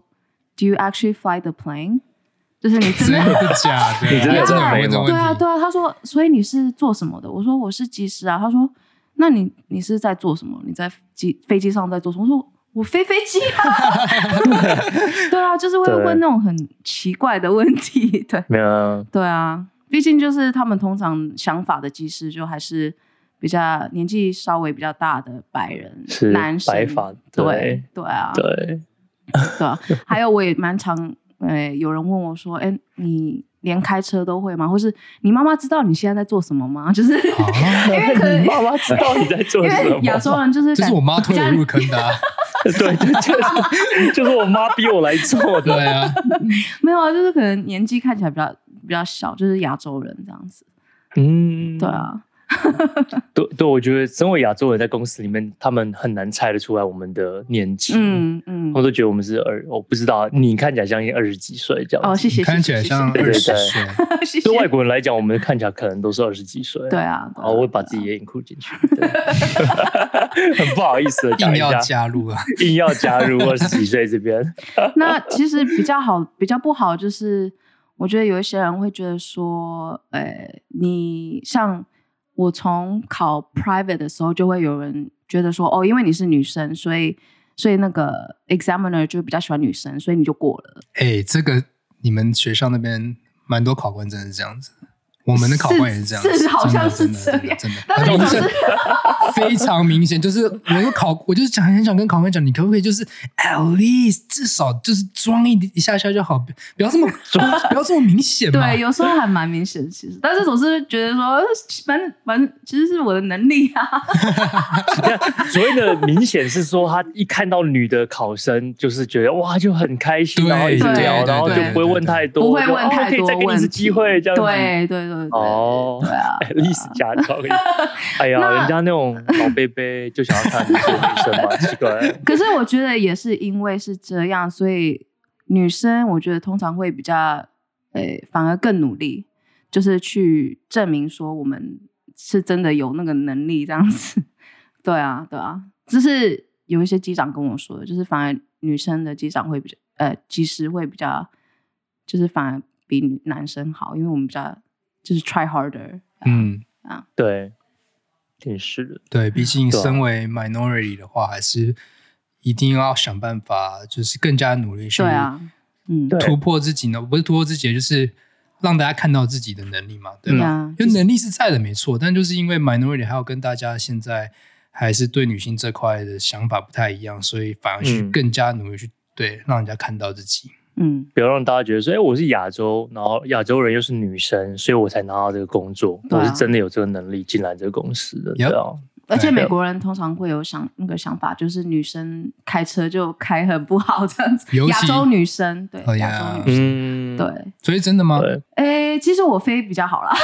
do you actually fly the plane？ 就是你真的真的假的？你真的真的問這個問題？ 對啊對啊，他說所以你是做什麼的？我說我是機師啊。他說那你你是在做什麼？你在機飛機上在做什麼？我說。我飛飛機啊，對啊，就是會問那種很奇怪的問題，對， 沒有啊， 對啊，畢竟就是他們通常想法的機師就還是比較年紀稍微比較大的白人是男生， 白髮， 對對對啊， 對對啊，還有我也蠻常，呃，有人問我說，哎，你連開車都會嗎？或是你媽媽知道你現在在做什麼嗎？就是、啊、因為可能你媽媽知道你在做什麼，因為亞洲人就是這是我媽推我入坑的、啊。 對，就是就是我媽逼我來做的。對啊， 沒有啊，就是可能年紀看起來比較比較小，就是亞洲人這樣子。嗯，對啊。 對對，我覺得身為亞洲人在公司裡面，他們很難猜得出來我們的年紀。嗯嗯，我都覺得我們是二，我不知道你看起來像二十幾歲這樣。 哦，謝謝。 看起來像二十歲。 謝謝。 對外國人來講，我們看起來可能都是二十幾歲。 對啊。 然後我會把自己也 include 進去。很不好意思的講一下， 硬要加入啊， 硬要加入二十幾歲這邊。 那其實比較好，比較不好就是，我覺得有一些人會覺得說，呃，你像。我從考 private 的時候，就會有人覺得說，哦，因為你是女生，所以所以那個 examiner 就比較喜歡女生，所以你就過了。 哎、欸，這個你們學校那邊蠻多考官真的是這樣子。我們的考官也是這樣子， 是，是好像是這樣， 真的，真的，但是就是非常明顯，就是我就考，我就是想很想跟考官講，你可不可以就是 at least 至少就是裝一一下下就好，不要這麼不要這麼明顯嘛。 對，有時候還蠻明顯，其實，但是總是覺得說，反正反正其實是我的能力啊。 所謂的明顯是說，他一看到女的考生，就是覺得哇就很開心，然後一直聊，然後就不會問太多， 不會問太多， 可以再給你一次機會這樣子。 對對對。 哦， 對啊， 歷史家長，哎呀，人家那種老伯伯就想要看你是女生嘛，奇怪。 可是我覺得也是因為是這樣，所以女生我覺得通常會比較，呃，反而更努力，就是去證明說我們是真的有那個能力這樣子。對啊，對啊，這是有一些機長跟我說的，就是反而女生的機長會比較，呃，機師會比較，就是反而比女男生好，因為我們比較。就是 try harder， 嗯啊， 對，挺是的， 對，畢竟身為 minority 的話，還是一定要想辦法，就是更加努力去， 對啊，嗯， 突破自己呢，不是突破自己，就是讓大家看到自己的能力嘛，對吧？嗯、因為能力是在的，沒錯，但就是因為 minority 還要跟大家現在還是對女性這塊的想法不太一樣，所以反而去更加努力去、嗯、對，讓人家看到自己。 嗯， 不要讓大家覺得說，哎、欸，我是亞洲，然後亞洲人又是女生，所以我才拿到這個工作。啊、我是真的有這個能力進來這個公司的，對啊。 而且美國人通常會有想那個想法，就是女生開車就開很不好這樣子。亞洲女生對，亞、oh yeah. 洲女生、嗯、對， 所以真的嗎？ 哎、欸，其實我飛比較好啦，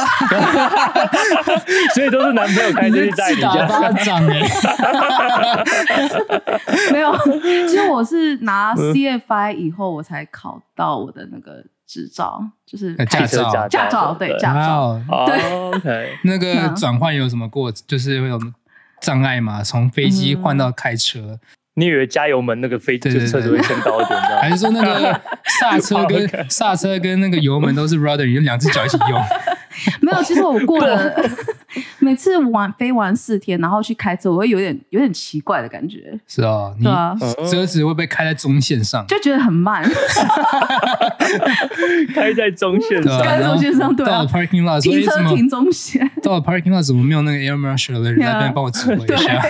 所以都是男朋友開車去帶你家。巴掌哎， 沒有，其實我是拿 C F I 以後我才考到我的那個執照，就是開車駕照，駕照對駕照。 對 oh, OK， 那個轉換有什麼過？就是會有障礙嘛，從飛機換到開車。嗯你以為加油門那個飛機車子會先到一點？ 還是說那個剎車跟剎車跟那個油門都是 rudder， 你就兩隻腳一起用？ 沒有，其實我過了每次玩飛完四天，然後去開車，我會有點有點奇怪的感覺。 是哦，你車子會不會開在中線上？ 就覺得很慢。 開在中線上， 開在中線上，對啊。 到了 parking lot， 停車停中線。 到了 parking lot 怎麼沒有那個 air marshal 的人在那邊幫我指揮一下？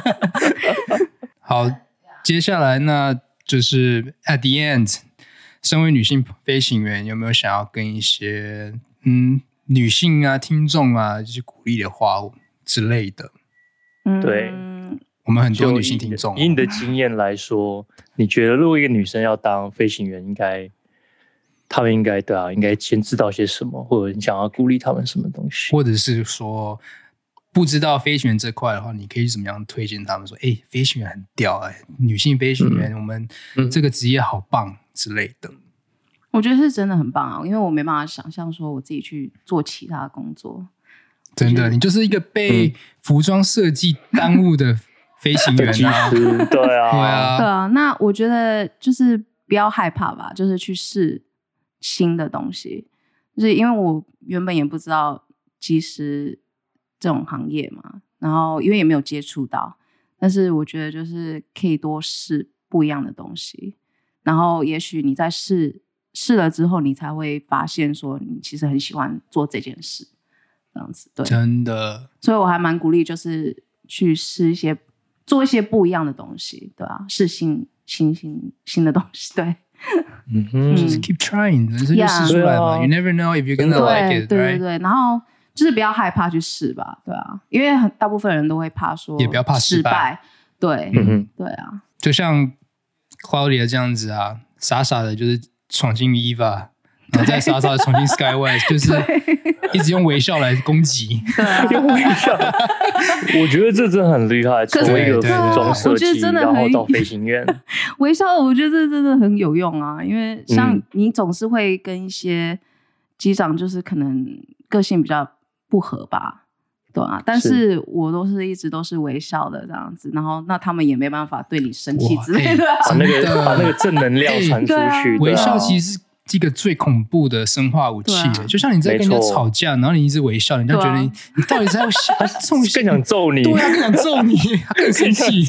好，接下來那就是 at the end， 身為女性飛行員，有沒有想要跟一些嗯女性啊聽眾啊，就是鼓勵的話之類的？ 嗯， 對， 我們很多女性聽眾、 以你的經驗來說，你覺得如果一個女生要當飛行員，應該她們應該對啊，應該先知道些什麼，或者你想要鼓勵她們什麼東西， 或者是說。不知道飛行員這塊的話，你可以怎麼樣推薦他們說？哎、欸，飛行員很屌哎、欸，女性飛行員、嗯，我們這個職業好棒之類的。 我覺得是真的很棒啊，因為我沒辦法想象說我自己去做其他的工作。 真的，你就是一個被服裝設計耽誤的飛行員啊！ 對啊，對啊，對啊。那我覺得就是不要害怕吧，就是去試新的東西。就是因為我原本也不知道機師這種行業嘛，然後因為也沒有接觸到，但是我覺得就是可以多試不一樣的東西，然後也許你在試試了之後，你才會發現說你其實很喜歡做這件事，這樣子。對， 真的， 所以我還蠻鼓勵，就是去試一些做一些不一樣的東西，對啊，試新新新新的東西，對。 嗯哼，就是 keep trying， 人生就試出來嘛。Yeah. You never know if you're gonna like it， 對對對， right? 然後。就是不要害怕去試吧，對啊，因為很大部分人都會怕說， 也不要怕失敗， 對，嗯，對啊， 就像 Claudia 這樣子啊，傻傻的就是闖進 Eva， 然後再傻傻的闖進 Skywest， 就是一直用微笑來攻擊， 對啊， 用微笑，我覺得這真的很厲害，從一個服裝設計，然後到飛行員， 微笑，我覺得這真的很有用啊，因為像你總是會跟一些機長，就是可能個性比較不合吧，對啊，但是我都是一直都是微笑的這樣子，然後那他們也沒辦法對你生氣之類的， 把那個把那個正能量傳出去。 微笑其實是一個最恐怖的生化武器，就像你在跟人家吵架，然後你一直微笑，人家覺得你你到底在要笑， 更想揍你， 對啊，更想揍你，更生氣。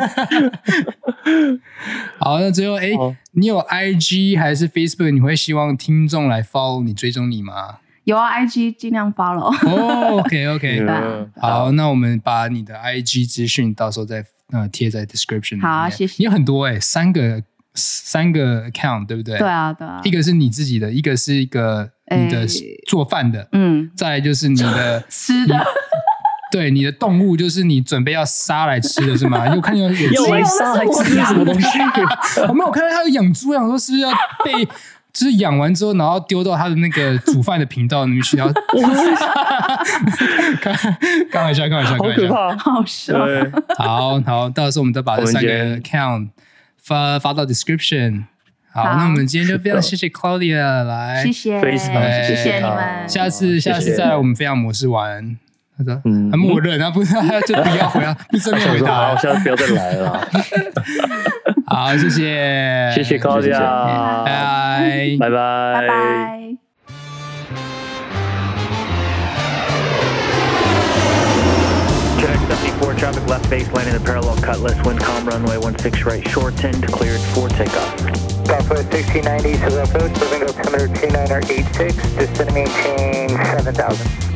好，那最後哎，你有 I G 還是 Facebook？ 你會希望聽眾來 follow 你追蹤你嗎？ 有啊 ，I G 盡量 follow。 哦 ，OK OK， 好，那我們把你的 I G 資訊到時候再呃貼在 description 裡面。 好，謝謝。 你有很多哎、欸，三個三個 account 對不對？ 對啊，對啊。 一個是你自己的，一個是一個你的做飯的，嗯，再來就是你的吃的。 對，你的動物就是你準備要殺來吃的是嗎？你有看到有要來殺來吃什麼東西？ 我沒有看到他有養豬，養說是不是要被？就是養完之後，然後丟到他的那個煮飯的頻道裡面去，然後開玩笑，開玩笑， 好可怕， 好笑。 好好，到時候我們再把這三個 account 發發到 description。好，那我們今天就非常謝謝 Claudia 來， 謝謝，謝謝你們。 下次下次再來我們飛航模式玩。他說：“嗯，他默認，他不，他就不要回答，不正面回答， 我下次不要再來了。” 好，謝謝， 謝謝 Claudia， 拜拜， 拜拜， 拜拜。 Jet seventy-four, traffic left base, landing the parallel cutlass, wind calm, runway one six right, short end, cleared for takeoff. Southwest sixteen ninety, to approach, moving altimeter two nine eight six, descend and maintain seven thousand.